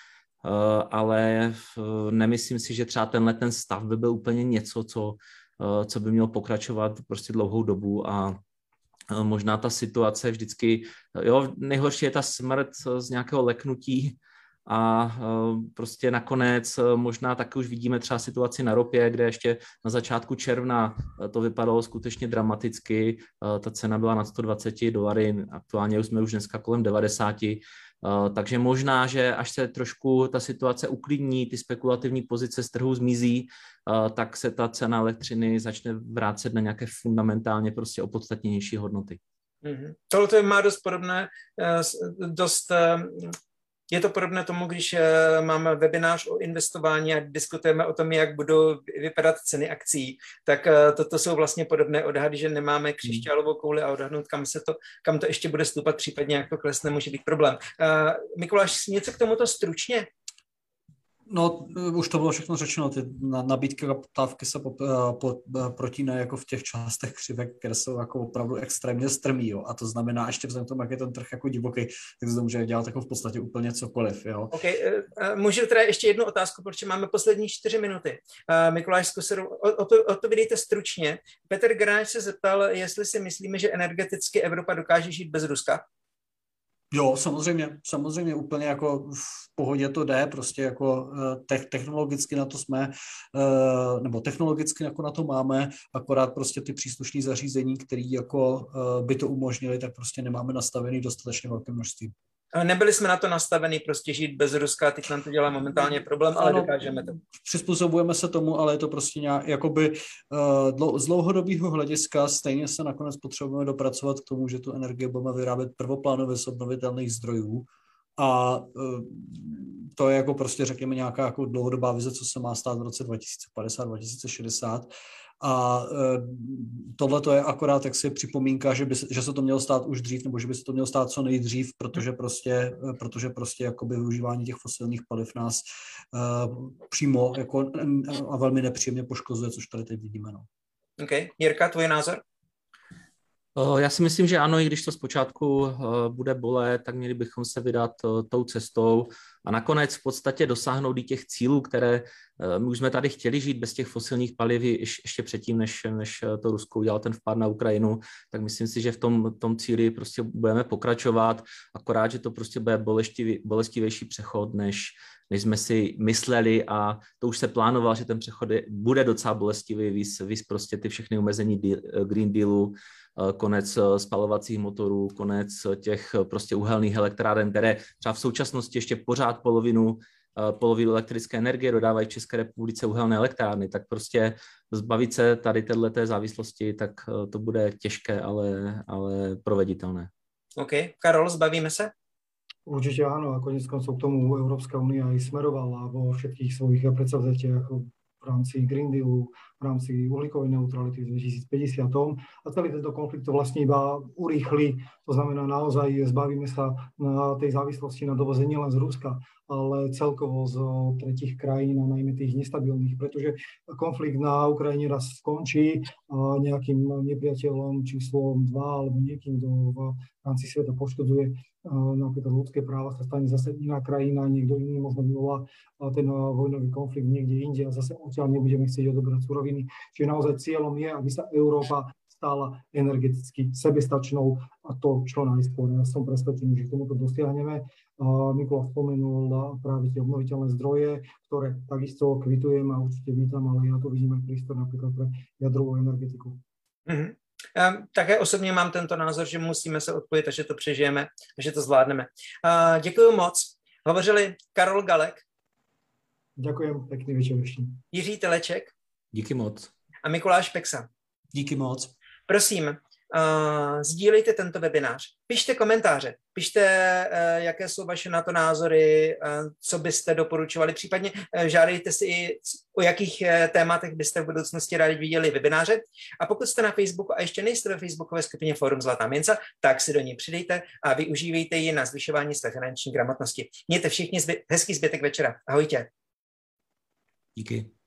Speaker 3: ale nemyslím si, že třeba ten stav by byl úplně něco, co by mělo pokračovat prostě dlouhou dobu a možná ta situace vždycky, jo, nejhorší je ta smrt z nějakého leknutí a prostě nakonec možná taky už vidíme třeba situaci na ropě, kde ještě na začátku června to vypadalo skutečně dramaticky, ta cena byla nad $120, aktuálně jsme už dneska kolem 90, takže možná, že až se trošku ta situace uklidní, ty spekulativní pozice z trhu zmizí, tak se ta cena elektřiny začne vrátit na nějaké fundamentálně prostě opodstatnější hodnoty.
Speaker 1: Tohle má dost podobné, je to podobné tomu, když máme webinář o investování a diskutujeme o tom, jak budou vypadat ceny akcií, tak toto jsou vlastně podobné odhady, že nemáme křišťálovou kouli a odhadnout, kam to ještě bude stoupat, případně jak to klesne, může být problém. Mikuláš, něco k tomuto stručně?
Speaker 4: No, už to bylo všechno řečeno, ty nabídky a poptávky se protínají jako v těch částech křivek, které jsou jako opravdu extrémně strmý, jo. A to znamená, ještě vzhledem k tomu, jak je ten trh jako divoký, tak se to může dělat jako v podstatě úplně cokoliv, jo.
Speaker 1: OK, můžu teda ještě jednu otázku, protože máme poslední 4 minuty. Mikuláš Skuseru, odpovídejte stručně. Petr Gráč se zeptal, jestli si myslíme, že energeticky Evropa dokáže žít bez Ruska.
Speaker 4: Jo, samozřejmě úplně jako v pohodě to jde, prostě jako technologicky na to jsme, nebo technologicky jako na to máme, akorát prostě ty příslušné zařízení, které jako by to umožnili, tak prostě nemáme nastavený dostatečně velké množství.
Speaker 1: Nebyli jsme na to nastavení prostě žít bez Ruska, teď nám to dělá momentálně problém, ale dokážeme to.
Speaker 4: Přizpůsobujeme se tomu, ale je to prostě nějak, jakoby z dlouhodobého hlediska stejně se nakonec potřebujeme dopracovat k tomu, že tu energii budeme vyrábět prvoplánově z obnovitelných zdrojů a to je jako prostě řekněme nějaká jako dlouhodobá vize, co se má stát v roce 2050, 2060. A tohle to je akorát jaksi připomínka, že se to mělo stát už dřív, nebo že by se to mělo stát co nejdřív, protože prostě jakoby využívání těch fosilních paliv nás přímo jako a velmi nepříjemně poškozuje, což tady teď vidíme. No.
Speaker 1: OK. Jirka, tvůj názor?
Speaker 3: Já si myslím, že ano, i když to zpočátku bude bolet, tak měli bychom se vydat tou cestou a nakonec v podstatě dosáhnout i těch cílů, které my už jsme tady chtěli žít bez těch fosilních paliv ještě předtím, než to Rusko udělalo ten vpád na Ukrajinu, tak myslím si, že v tom cíli prostě budeme pokračovat, akorát, že to prostě bude bolestivější přechod, než jsme si mysleli a to už se plánoval, že ten přechod bude docela bolestivý, víc prostě ty všechny omezení Green Dealu, konec spalovacích motorů, konec těch prostě uhelných elektráren, které třeba v současnosti ještě pořád polovinu elektrické energie dodávají v České republice uhelné elektrárny, tak prostě zbavit se tady této závislosti, tak to bude těžké, ale proveditelné.
Speaker 1: OK. Karol, zbavíme se?
Speaker 2: Určite áno, a konec koncov k tomu Európska únia aj smerovala vo všetkých svojich predsavzatiach v rámci Green Dealu, v rámci uhlíkovej neutrality v 2050. A celý tento konflikt to vlastne iba urýchli. To znamená, naozaj zbavíme sa na tej závislosti na dovoze nielen z Ruska, ale celkovo z tretích krajín a najmä tých nestabilných, pretože konflikt na Ukrajine raz skončí nejakým nepriateľom číslom 2 alebo niekým, kto v rámci sveta poškodzuje napríklad ľudské práva, sa stane zase iná krajina, niekto iný možno vyvolá ten vojnový konflikt niekde inde a zase odtiaľ nebudeme chcieť odobrať suroviny. Čiže naozaj cieľom je, aby sa Európa stala energeticky sebestačnou a to čo najskôr. Ja som presvedčený, že k tomuto dosiahneme. Mikuláš spomenul práve tie obnoviteľné zdroje, ktoré takisto kvitujem a určite vítam, ale ja tu vidím aj prístor napríklad pre jadrovú energetiku.
Speaker 1: Mm-hmm. Já také osobně mám tento názor, že musíme se odpojit a že to přežijeme a že to zvládneme. Děkuji moc. Hovořili Karol Galek.
Speaker 2: Ďakujem, pekný večer ešte.
Speaker 1: Jiří Teleček.
Speaker 3: Díky moc.
Speaker 1: A Mikuláš Peksa.
Speaker 4: Díky moc.
Speaker 1: Prosím, sdílejte tento webinář. Pište komentáře, pište, jaké jsou vaše na to názory, co byste doporučovali, případně žádejte si i o jakých tématech byste v budoucnosti rádi viděli webináře. A pokud jste na Facebooku a ještě nejste ve facebookové skupině Fórum Zlatá mince, tak si do ní přidejte a využívejte ji na zvyšování své finanční gramotnosti. Mějte všichni hezký zbytek večera. Ahojte.
Speaker 3: Díky.